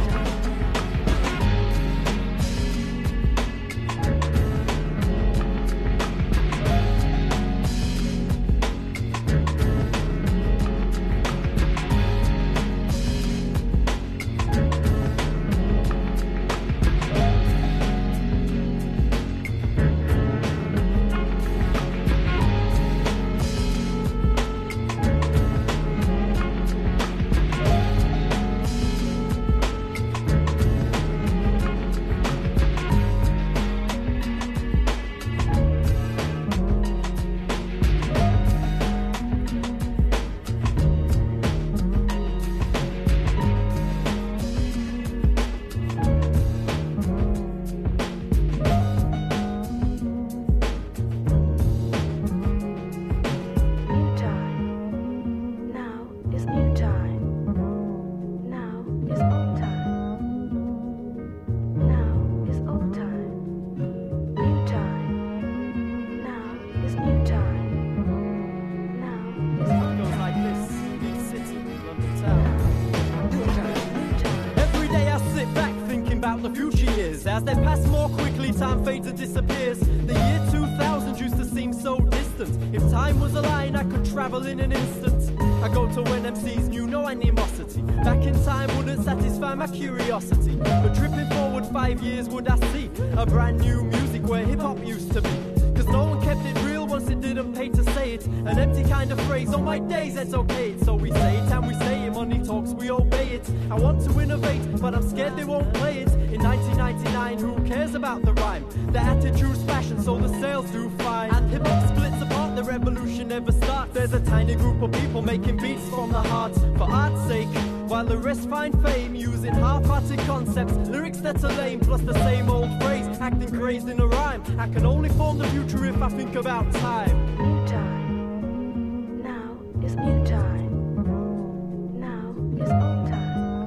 Speaker 3: time fades and disappears. The year 2000 used to seem so distant. If time was a line, I could travel in an instant. I go to when MCs knew no animosity. Back in time wouldn't satisfy my curiosity. But tripping forward 5 years would I see a brand new music where hip-hop used to be. Cause no one kept it real once it didn't pay to say it. An empty kind of phrase, on my days it's okay. So we say it and we say it, money talks, we obey it. I want to innovate, but I'm scared they won't play it. In 1999, who cares about the rhyme? The attitude's fashion, so the sales do fine. And hip-hop splits apart, the revolution never starts. There's a tiny group of people making beats from the heart, for art's sake, while the rest find fame using half-hearted concepts, lyrics that are lame, plus the same old phrase, acting crazed in a rhyme. I can only form the future if I think about time.
Speaker 9: New time. Now is new time. Now is old time.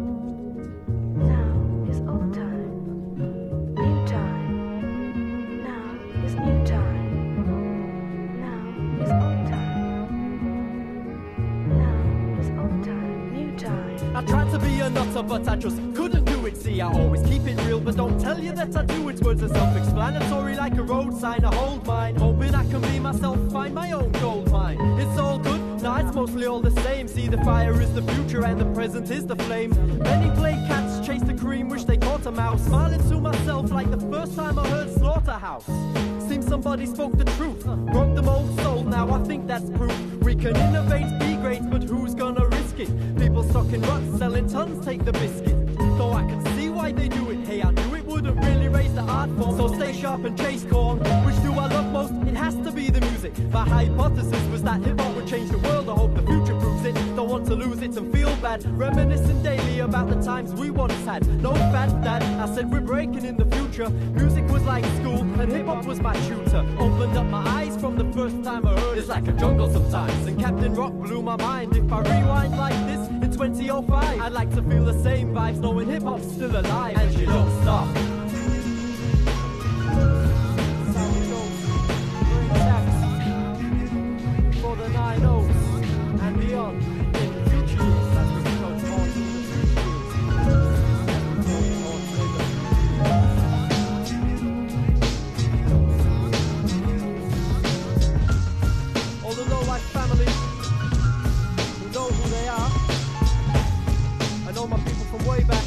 Speaker 9: Now is old time. New time. Now is new time. Now is old time. Now is old time. New time.
Speaker 3: I tried to be a nutter, but I just couldn't do it. See, I always keep it real, but don't tell you that I do it. Words are self-explanatory like a road sign. I hold mine, hoping I can be myself, find my own gold mine. It's all good, nah, it's mostly all the same. See, the fire is the future and the present is the flame. Many play cats, chase the cream, wish they caught a mouse. Smiling to myself like the first time I heard Slaughterhouse. Seems somebody spoke the truth, broke the mold soul, now I think that's proof. We can innovate, be great, but who's gonna risk it? People stuck in ruts, selling tons, take the biscuit. Though I can see why they do it, hey, I knew it wouldn't really raise the art form. So stay sharp and chase corn. Which do I love most? It has to be the music. My hypothesis was that hip-hop would change the world. I hope the future proves it. Don't want to lose it and feel bad. Reminiscing daily about the times we once had. No fat dad, I said we're breaking in the future. Music was like school and hip-hop was my tutor. Opened up my eyes from the first time I heard it. It's like a jungle sometimes, and Captain Rock blew my mind. If I rewind like this in 2005, I'd like to feel the same vibes, knowing hip-hop's still alive and you don't stop. For the 9-0s and beyond in the future years, as we approach on to the future years. All the low-life family who know who they are. I know my people from way back.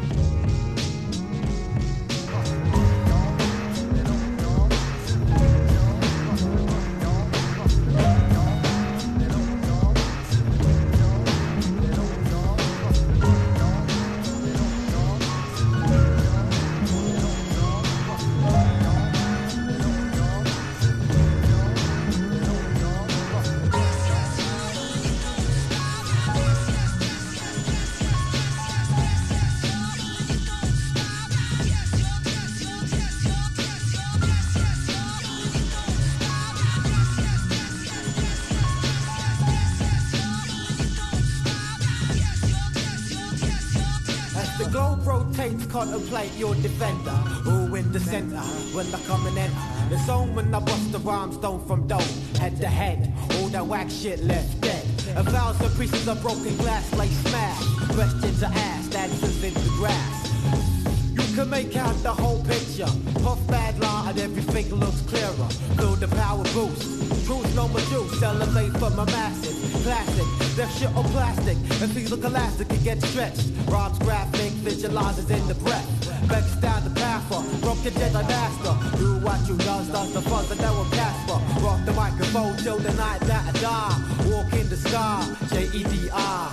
Speaker 12: Contemplate your defender, who in the center when I come and enter the zone. When I bust the rhyme stone from dough, head to head, all that whack shit left dead. 1,000 pieces of broken glass lay smashed, questions are asked, answers in the grass. You can make out the whole picture, puff bad line and everything looks clearer. Feel the power boost, truth no more juice, elevate from a massive classic. Left shit on plastic, and things look elastic and get stretched. Rhymes graphic, visualizes in the breath. Vex down the path for broken Jedi master. Do what you does the fuzz and that will Casper. Rock the microphone till the night that I die. Walk in the sky, J-E-D-I.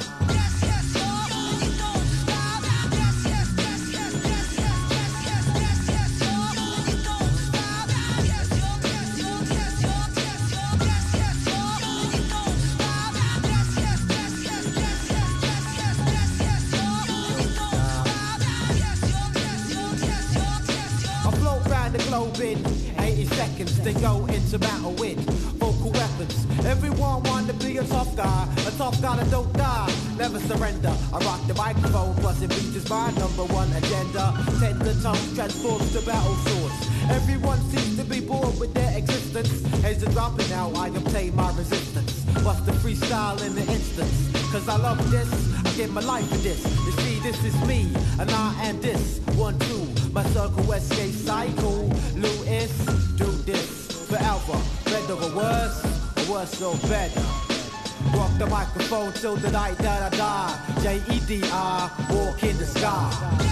Speaker 12: In 80 seconds, they go into battle with vocal weapons. Everyone wanna be a tough guy that don't die, never surrender. I rock the microphone, plus it reaches my #1 agenda. Tender tongue transforms to battle swords. Everyone seems to be bored with their existence. Heads are dropping now, I obtain my resistance. Bust the freestyle in the instance, cause I love this, I give my life for this. You see, this is me, and I am this. 1, 2. My circle escape cycle. Lewis, do this forever. Better or worse or better. Rock the microphone till the night that I die. J-E-D-I, walk in the sky.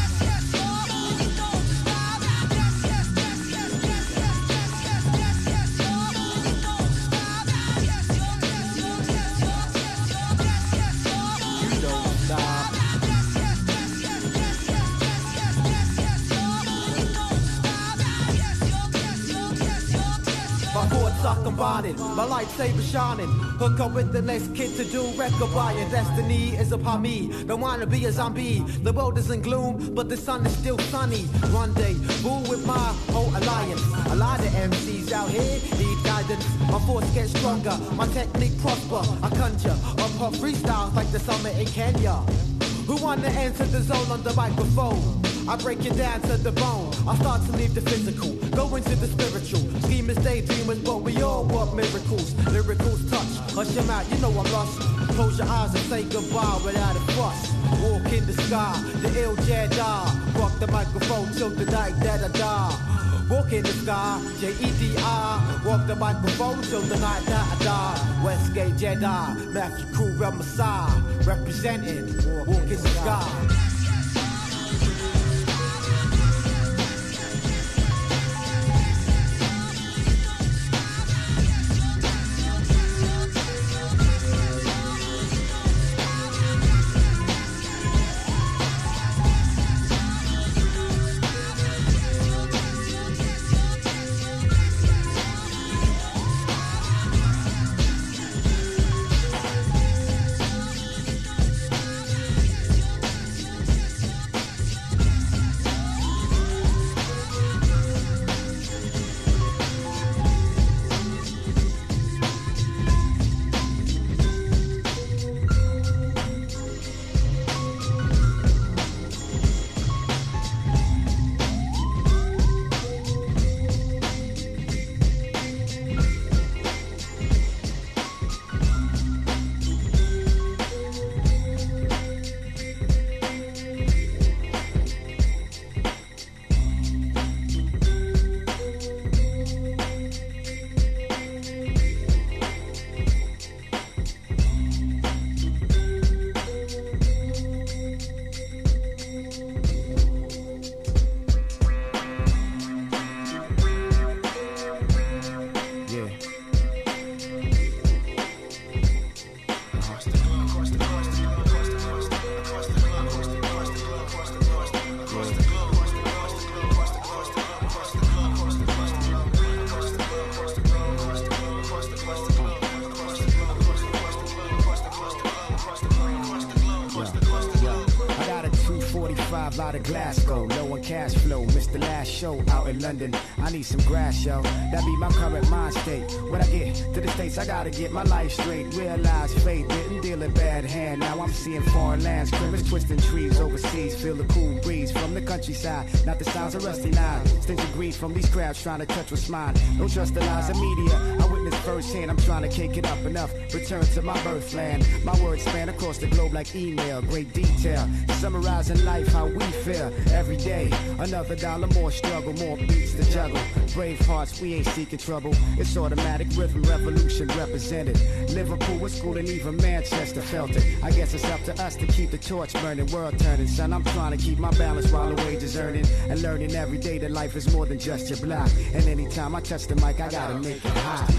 Speaker 12: I'm combining, my lightsaber shining. Hook up with the next kid to do record buying. Destiny is upon me, don't wanna be a zombie. The world is in gloom, but the sun is still sunny. One day, rule with my whole alliance. A lot of MCs out here need guidance. My force gets stronger, my technique prosper. I conjure up hot freestyles like the summer in Kenya. Who wanna enter the zone on the microphone? I break it down to the bone. I start to leave the physical, go into the spiritual. Schemers, daydreamers, but we all want miracles. Lyricals touch, hush them out, you know I'm lost. Close your eyes and say goodbye without a fuss. Walk in the sky, the ill Jedi. Rock the microphone till the night that I die. Walk in the sky, J-E-D-I. Walk the microphone till the night that I die. Westgate Jedi, Matthew Crew, Real Messiah. Representing, walk in the sky. Out of Glasgow, low on cash flow. Missed the last show out in London. I need some grass, yo. That be my current mind state. When I get to the States, I gotta get my life straight. Realize fate didn't deal a bad hand. Now I'm seeing foreign lands, criminals twisting trees overseas. Feel the cool breeze from the countryside. Not the sounds of rusty knives. Stingy greed from these crowds trying to touch what's mine. Don't trust the lies of media. I witnessed firsthand. I'm trying to cake it up enough. Return to my birthland. My words span across the globe like email. Great detail. Summarizing life, how we feel every day. Another dollar, more struggle, more beats to juggle. Brave hearts, we ain't seeking trouble. It's automatic rhythm revolution represented. Liverpool was school and even Manchester felt it. I guess it's up to us to keep the torch burning, world turning. Son, I'm trying to keep my balance while the wages earning. And learning every day that life is more than just your block. And anytime I touch the mic, I gotta make it hot.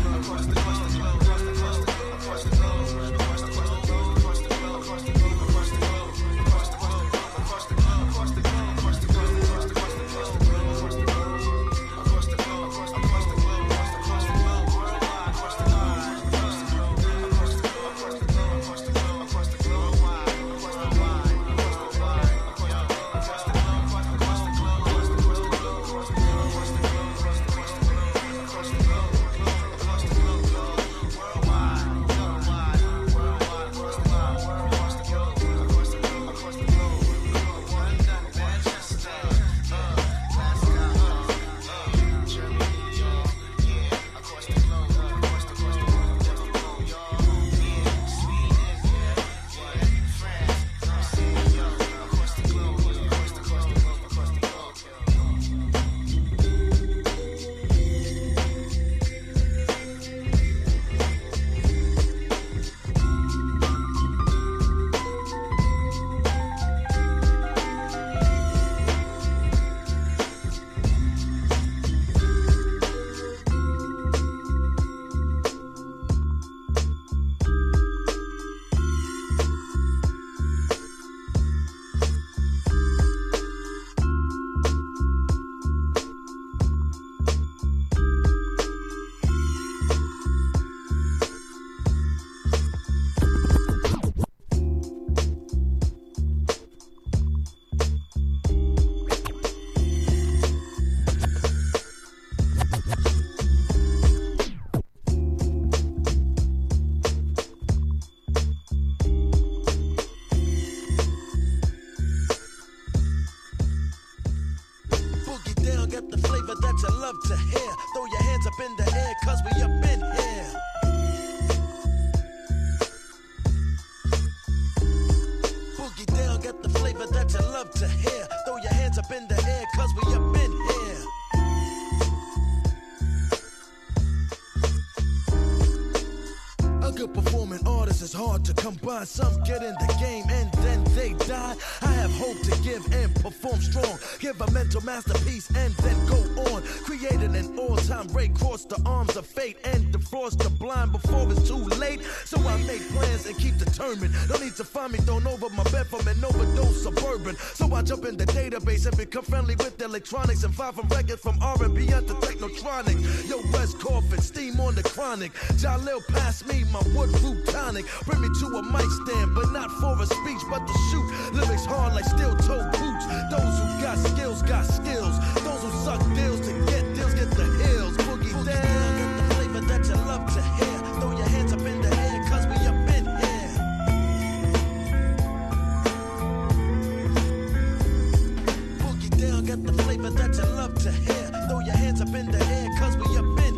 Speaker 1: A good performing artist is hard to come by. Some get in the game and then they die. I have hope to give and perform strong. Give a mental masterpiece and then go on. Creating an all-time break, cross the arms of fate and defrost the blind before it's too late. So I make plans and keep determined. Don't need to find me thrown over my bed from an overdose suburban. So I jump in the database and become friendly with electronics and file from records from R&B to Technotronic. Yo, West Coffin, steam on the chronic. Jalil pass me my wood root tonic. Bring me to a mic stand, but not for a speech, but to shoot. Lyrics hard like steel-toe boots. Those who got skills, got skills. Those who suck deals to get deals, get the hills. Boogie down, get the flavor that you love to hear. Throw your hands up in the air, cause we up in here. Boogie down, get the flavor that you love to hear. Throw your hands up in the air, cause we up in here.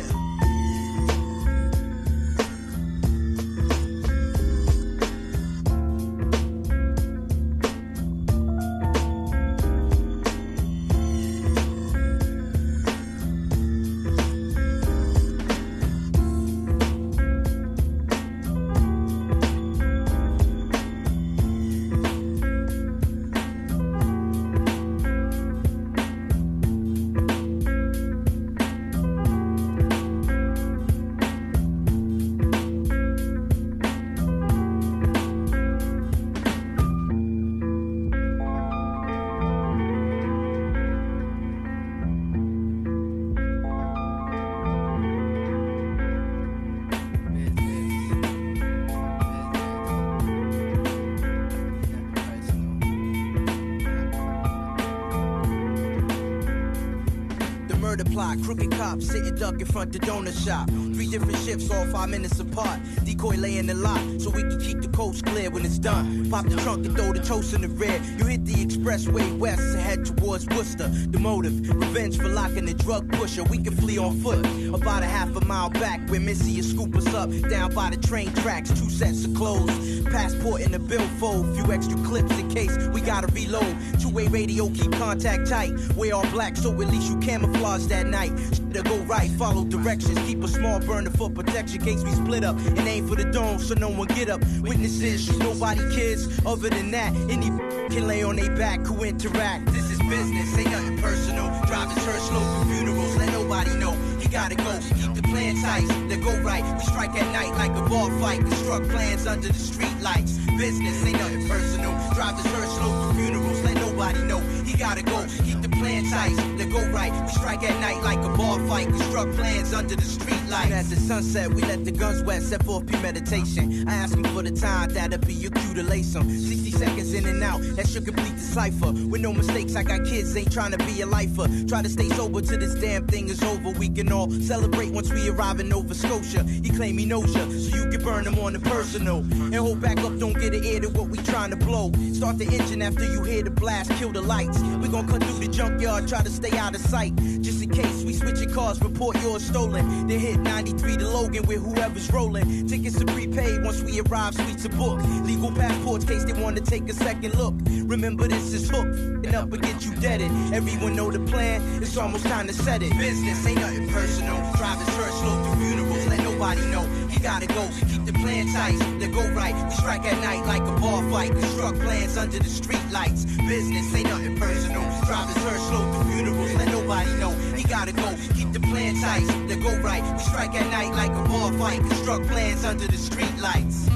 Speaker 2: Crooked cops sitting duck in front the donut shop. 3 different shifts, all 5 minutes apart. Decoy lay in the lot so we can keep the coast clear when it's done. Pop the trunk and throw the toast in the rear. You hit the expressway west and head towards Worcester. The motive, revenge for locking the drug pusher. We can flee on foot about a half a mile back where Missy will scoop us up. Down by the train tracks, 2 sets of clothes. Passport in the billfold, few extra clips in case we gotta reload. 2-way radio, keep contact tight. Wear all black so at least you camouflage that night. To go right, follow directions. Keep a small burner for protection case we split up. And aim for the dome so no one get up. Witnesses, shoot nobody kids. Other than that, any can lay on their back who interact. This is business, ain't nothing personal. Drivers heard slow for funerals, let nobody know. He gotta go, keep the plan tight. They go right, we strike at night like a bar fight. Construct plans under the street lights. Business, ain't nothing personal. Drivers heard slow for funerals, let nobody know. He gotta go, keep the plan tight. They go right, we strike at night like a bar fight. Construct plans under the street lights. And at the sunset, we let the guns wet, set forth premeditation. I ask him for the time, that'll be your cue to lace him. 60 seconds in and out, that should complete the cipher. With no mistakes, I got kids, ain't trying to be a lifer. Try to stay sober till this damn thing is over. We can all celebrate once we arrive in Nova Scotia. He claim he knows ya, so you can burn him on the personal. And hold back up, don't get an ear to what we trying to blow. Start the engine after you hear the blast, kill the lights. We gon' cut through the junkyard, try to stay out of sight. Just in case we switching cars, report yours stolen. Then hit 93 to Logan with whoever's rolling. Tickets are prepaid once we arrive, suites are booked. Legal passports case they wanna take a second look. Remember this is hooked, and up and get you deaded. Everyone know the plan, it's almost time to set it. Business ain't nothing personal. Drivers heard slow through funerals, let nobody know. He gotta go, keep the plan tight. They go right, we strike at night like a bar fight. Construct plans under the street lights. Business ain't nothing personal. Drivers heard slow through funerals, let nobody know. He gotta go, keep the plan tight. They go right, we strike at night like a bar fight. Construct plans under the street lights.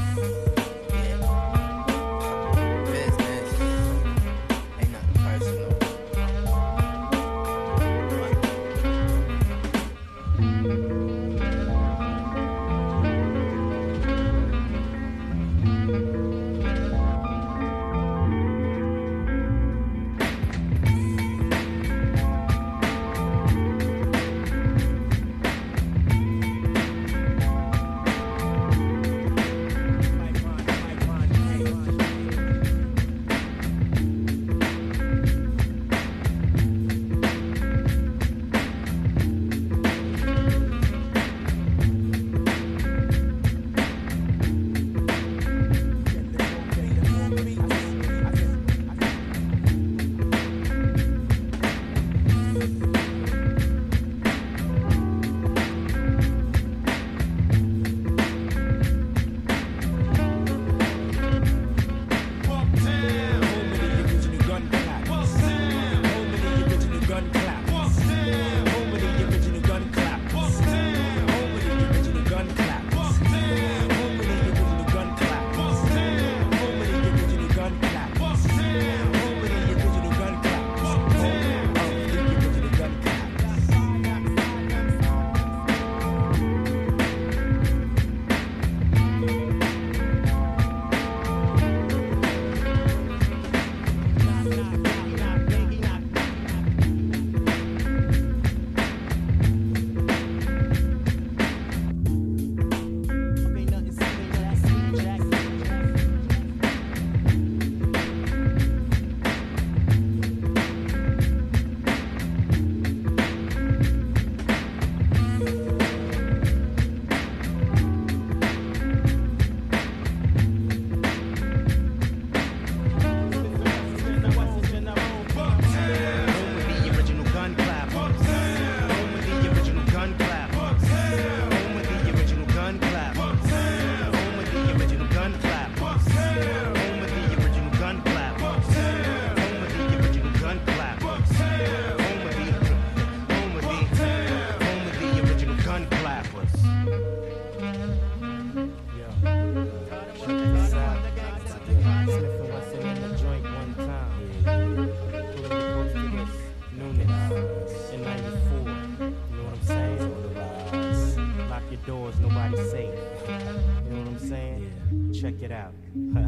Speaker 22: check it out.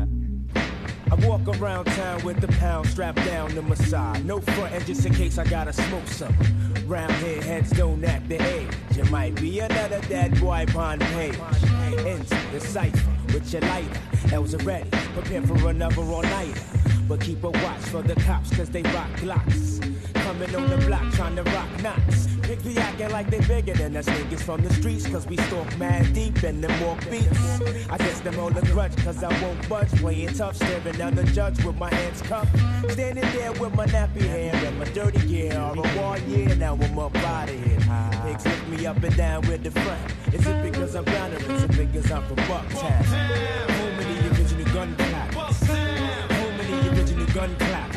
Speaker 21: I walk around town with the pound strapped down to my side. No frontin' just in case I gotta smoke some. Round here, heads don't act the age. You might be another dead boy upon the page. Into the cipher with your lighter. L's are ready, prepare for another all-nighter. But keep a watch for the cops, cause they rock Glocks. Coming on the block trying to rock knots. Pick be acting like they bigger than us niggas from the streets, cause we stalk mad deep in them walk beats. I guess them all a grudge, cause I won't budge. Playing tough, staring down the judge with my hands cuffed. Standing there with my nappy hair and my dirty gear. All a war year, now I'm up out of here. Pigs lift me up and down with the front. Is it because I'm down or is it because I'm from Bucktown? Home of the original gun clappers. Home of the original gun clappers.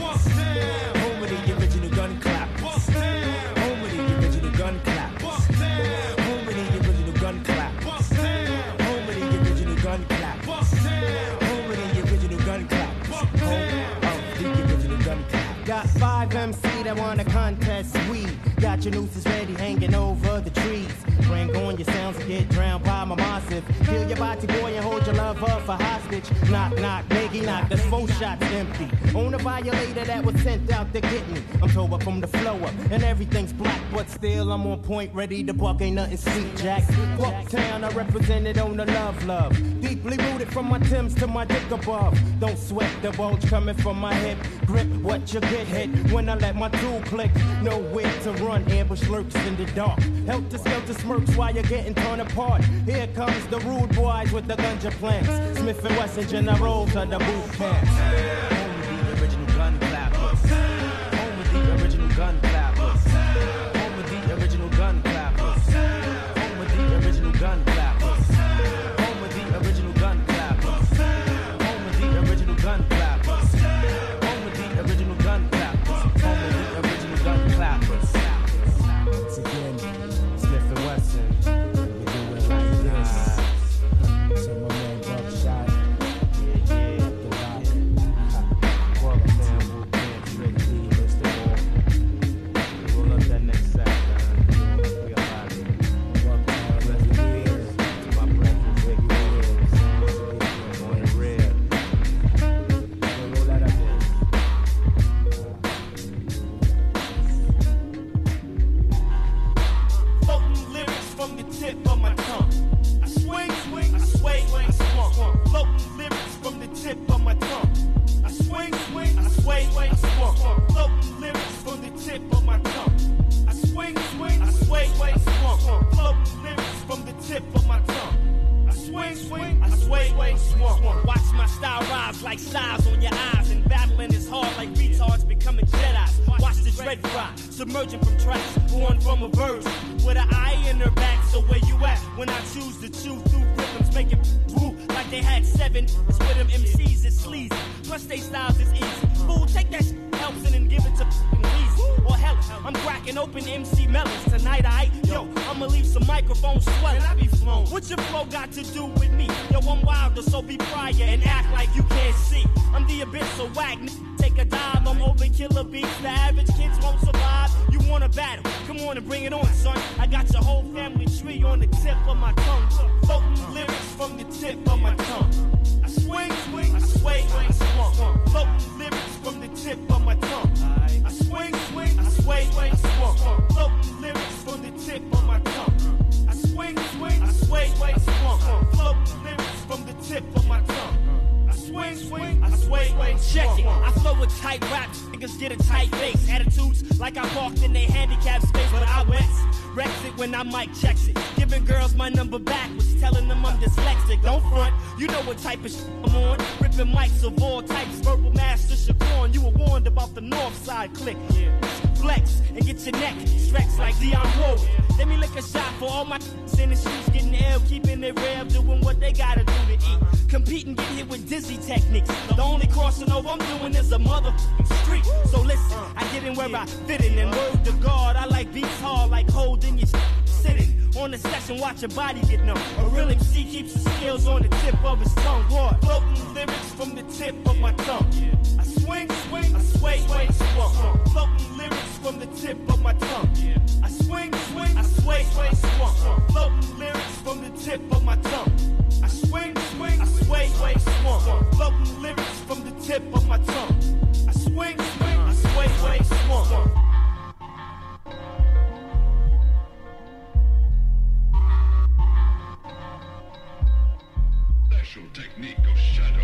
Speaker 21: Home of the original gun clappers. Home of the original gun clappers. Home of the original gun clappers. Home of the original gun clappers. Home of the original gun clappers. Home of the original gun clappers.
Speaker 12: Got 5 MC that wanna contest we got your nooses ready hanging over the trees. Bring on your sounds and get drowned by my massive. Kill your body boy and hold your love up for hostage. Knock, knock, Maggie knock, that's 4 shots empty. On a violator that was sent out to get me. I'm tore up from the flow up and everything's black, but still I'm on point, ready to buck, ain't nothing sweet, Jack. Bucktown, I represented on the love. Deeply rooted from my Timbs to my dick above. Don't sweat the bulge coming from my hip. Grip what you get hit when I let my tool click. Nowhere to run, ambush lurks in the dark. Helter skelter smirks while you're getting torn apart. Here comes the rude boys with the ganja plants. Smith and Wesson generals to the boot camps.
Speaker 21: Home of the original gun clappers. Home of the original gun clappers. Home of the original gun clappers. Home of the original gun clappers. Home of the original gun clappers. Home of the original gun clappers. Home of the original gun clappers. Home of the original gun clappers.
Speaker 12: Once again, Smith and Wesson. We do it like this. So my man Buckshot. Yeah. Well, man, Wu can't trick me, Mr. Wall. Roll up that next sack, man. We are out of here. Welcome all of you here to my breakfast with Wheels. On the red. Roll that up there.
Speaker 13: Floating lyrics from the tip of my tongue. I swing, I sway, I swung. Floating lyrics from the tip of my tongue. I swing, I sway, I swung. Floating lyrics from the tip of my tongue. I swing, I sway, I swung. Floating lyrics from the tip of my tongue. I swing, I sway, I swung. Watch my style rise like size on your eyes, and battling is hard like retards becoming Jedi's. Watch the dread fry, submerging from tracks, born from a verse with an eye in her back. So where you at when I choose to chew through rhythms, making woo like they had 7? It's with them MCs, it's sleazy. Plus they styles is easy. Fool, take that shit, Elson, and give it to Weezy. Or hell, I'm cracking open MC melons tonight. Yo, I'ma leave some microphones swelling. I be flown. What your flow got to do with me? Yo, I'm wilder, so be prior and act like you can't see. I'm the abyss, so whack, take a dive. I'm overkiller beats, the average kids won't survive. You wanna battle? Come on and bring it on, son. I got your whole family tree on the tip of my tongue. Floating lyrics from the tip of my tongue. I swing, I sway, I swung. Floating lyrics from the tip of my tongue. I swing, I sway, I swung. Floating lyrics from the tip of my tongue. I swing, I sway, I swung. Floating lyrics from the tip of my tongue. Swing, I sway, check it. I flow with tight raps, niggas get a tight face. Attitudes like I walked in their handicapped space, but I wrex it when I mic checks it. Giving girls my number backwards, telling them I'm dyslexic. Don't front, you know what type of shit I'm on. Ripping mics of all types, verbal master Shaquan. You were warned about the north side click. Flex and get your neck stretched like Dion Wood. Let me lick a shot for all my in the streets getting ill, keeping it real, doing what they gotta do to eat. Competing, get hit with dizzy techniques. The only crossing over I'm doing is a motherfucking street. So listen, I get in where I fit in, and word to God, I like beats hard, like holding your sitting on the session, watch your body get numb. A real MC keeps his skills on the tip of his tongue. What? Floating lyrics from the tip of my tongue. I swing, I sway, I swung. Floating lyrics from the tip of my tongue. I swing, I sway, I swung. Floating lyrics from the tip of my tongue. I swing, I sway, I swung. Floating lyrics from the tip of my tongue. I swing, I sway, swung.
Speaker 14: Special technique of shadow.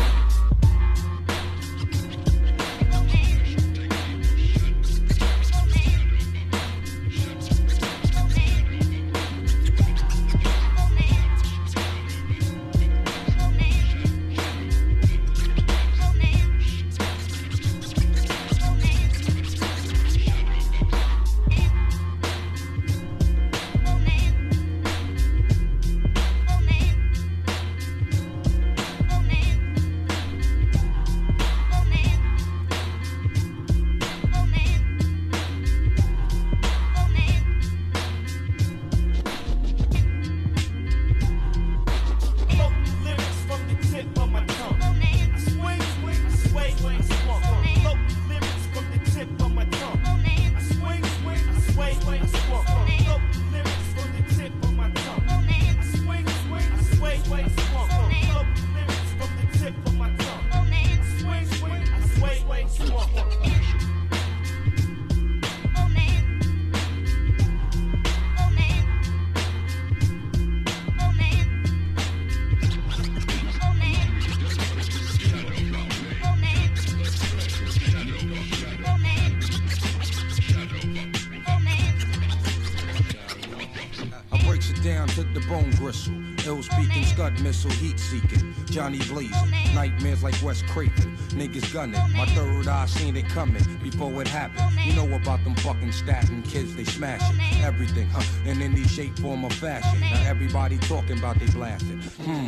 Speaker 17: Down to the bone gristle, ill speaking, scud missile, heat seeking, Johnny blazing, nightmares like Wes Craven, niggas gunning, my third eye seen it coming before it happened. You know about them fucking statin kids, they smashing everything, in any shape, form, or fashion. Now everybody talking about they blasting.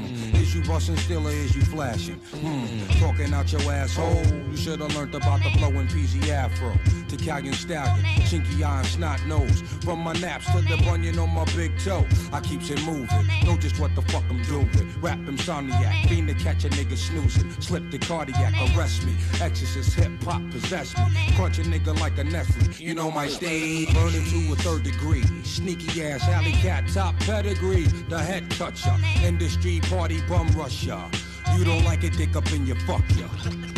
Speaker 17: Is you busting still or is you flashing? Talking out your asshole. You should have learned about the flowing PZ Afro, Italian stallion, chinky eye and snot nose. From my naps to the bunion on my big toe, I keeps it moving. Know just what the fuck I'm doing. Rap insomniac, fiend to catch a nigga snoozing. Slip the cardiac, arrest me. Exorcist hip hop possess me. Crunch a nigga like a Nestle. You know my stage, burning to a third degree. Sneaky ass alley cat, top pedigree. The head toucher, industry party bum rusher. You don't like it, dick up in your fuck ya.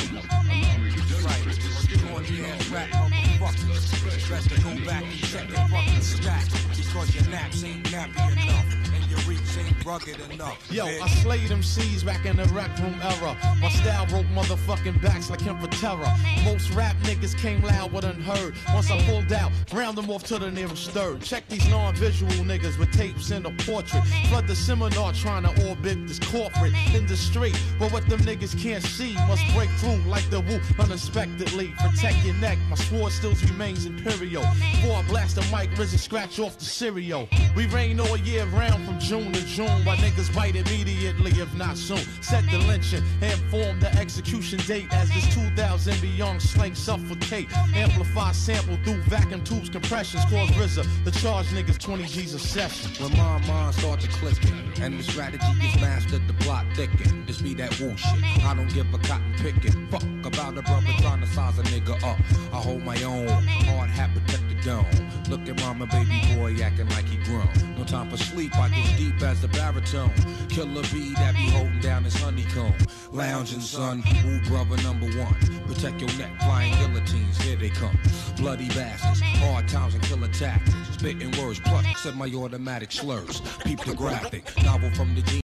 Speaker 17: Right, corny ass rap motherfuckers. Best to go back and check your fucking stack. Because your naps ain't nappy enough. And your reach ain't rugged enough.
Speaker 18: Yo, I slayed them C's back in the rec room era. My style broke motherfucking backs like him for terror. Most rap niggas came loud but unheard. Once I pulled out, round them off to the nearest third. Check these non-visual niggas with tapes in a portrait. Flood the seminar trying to orbit this corporate industry. But what them niggas can't see must break through like the woo unexpectedly. Protect your neck, my sword still remains imperial. Before I blast the mic, RZA scratch off the cereal. We rain all year round from June to June, while niggas bite immediately if not soon. Set the lynching and form the execution date as this 2000 beyond slang suffocate. Amplify sample through vacuum tubes compressions. Cause RZA the charge niggas 20 G's a session.
Speaker 17: When my mind starts to clicking and the strategy is mastered, the plot thicken. This be that woo shit. I don't give a cotton picking. Fuck about a brother trying to size a nigga up. I hold my own. Hard hat protect the dome. Look at mama, baby boy acting like he grown. No time for sleep, I get deep as the baritone. Killer bee that be holding down his honeycomb. Lounging son, woo brother number one. Protect your neck, flying guillotines, here they come. Bloody bastards, hard times and killer tactics. Spitting words plus semi-automatic slurs. Peep the graphic, novel from the G.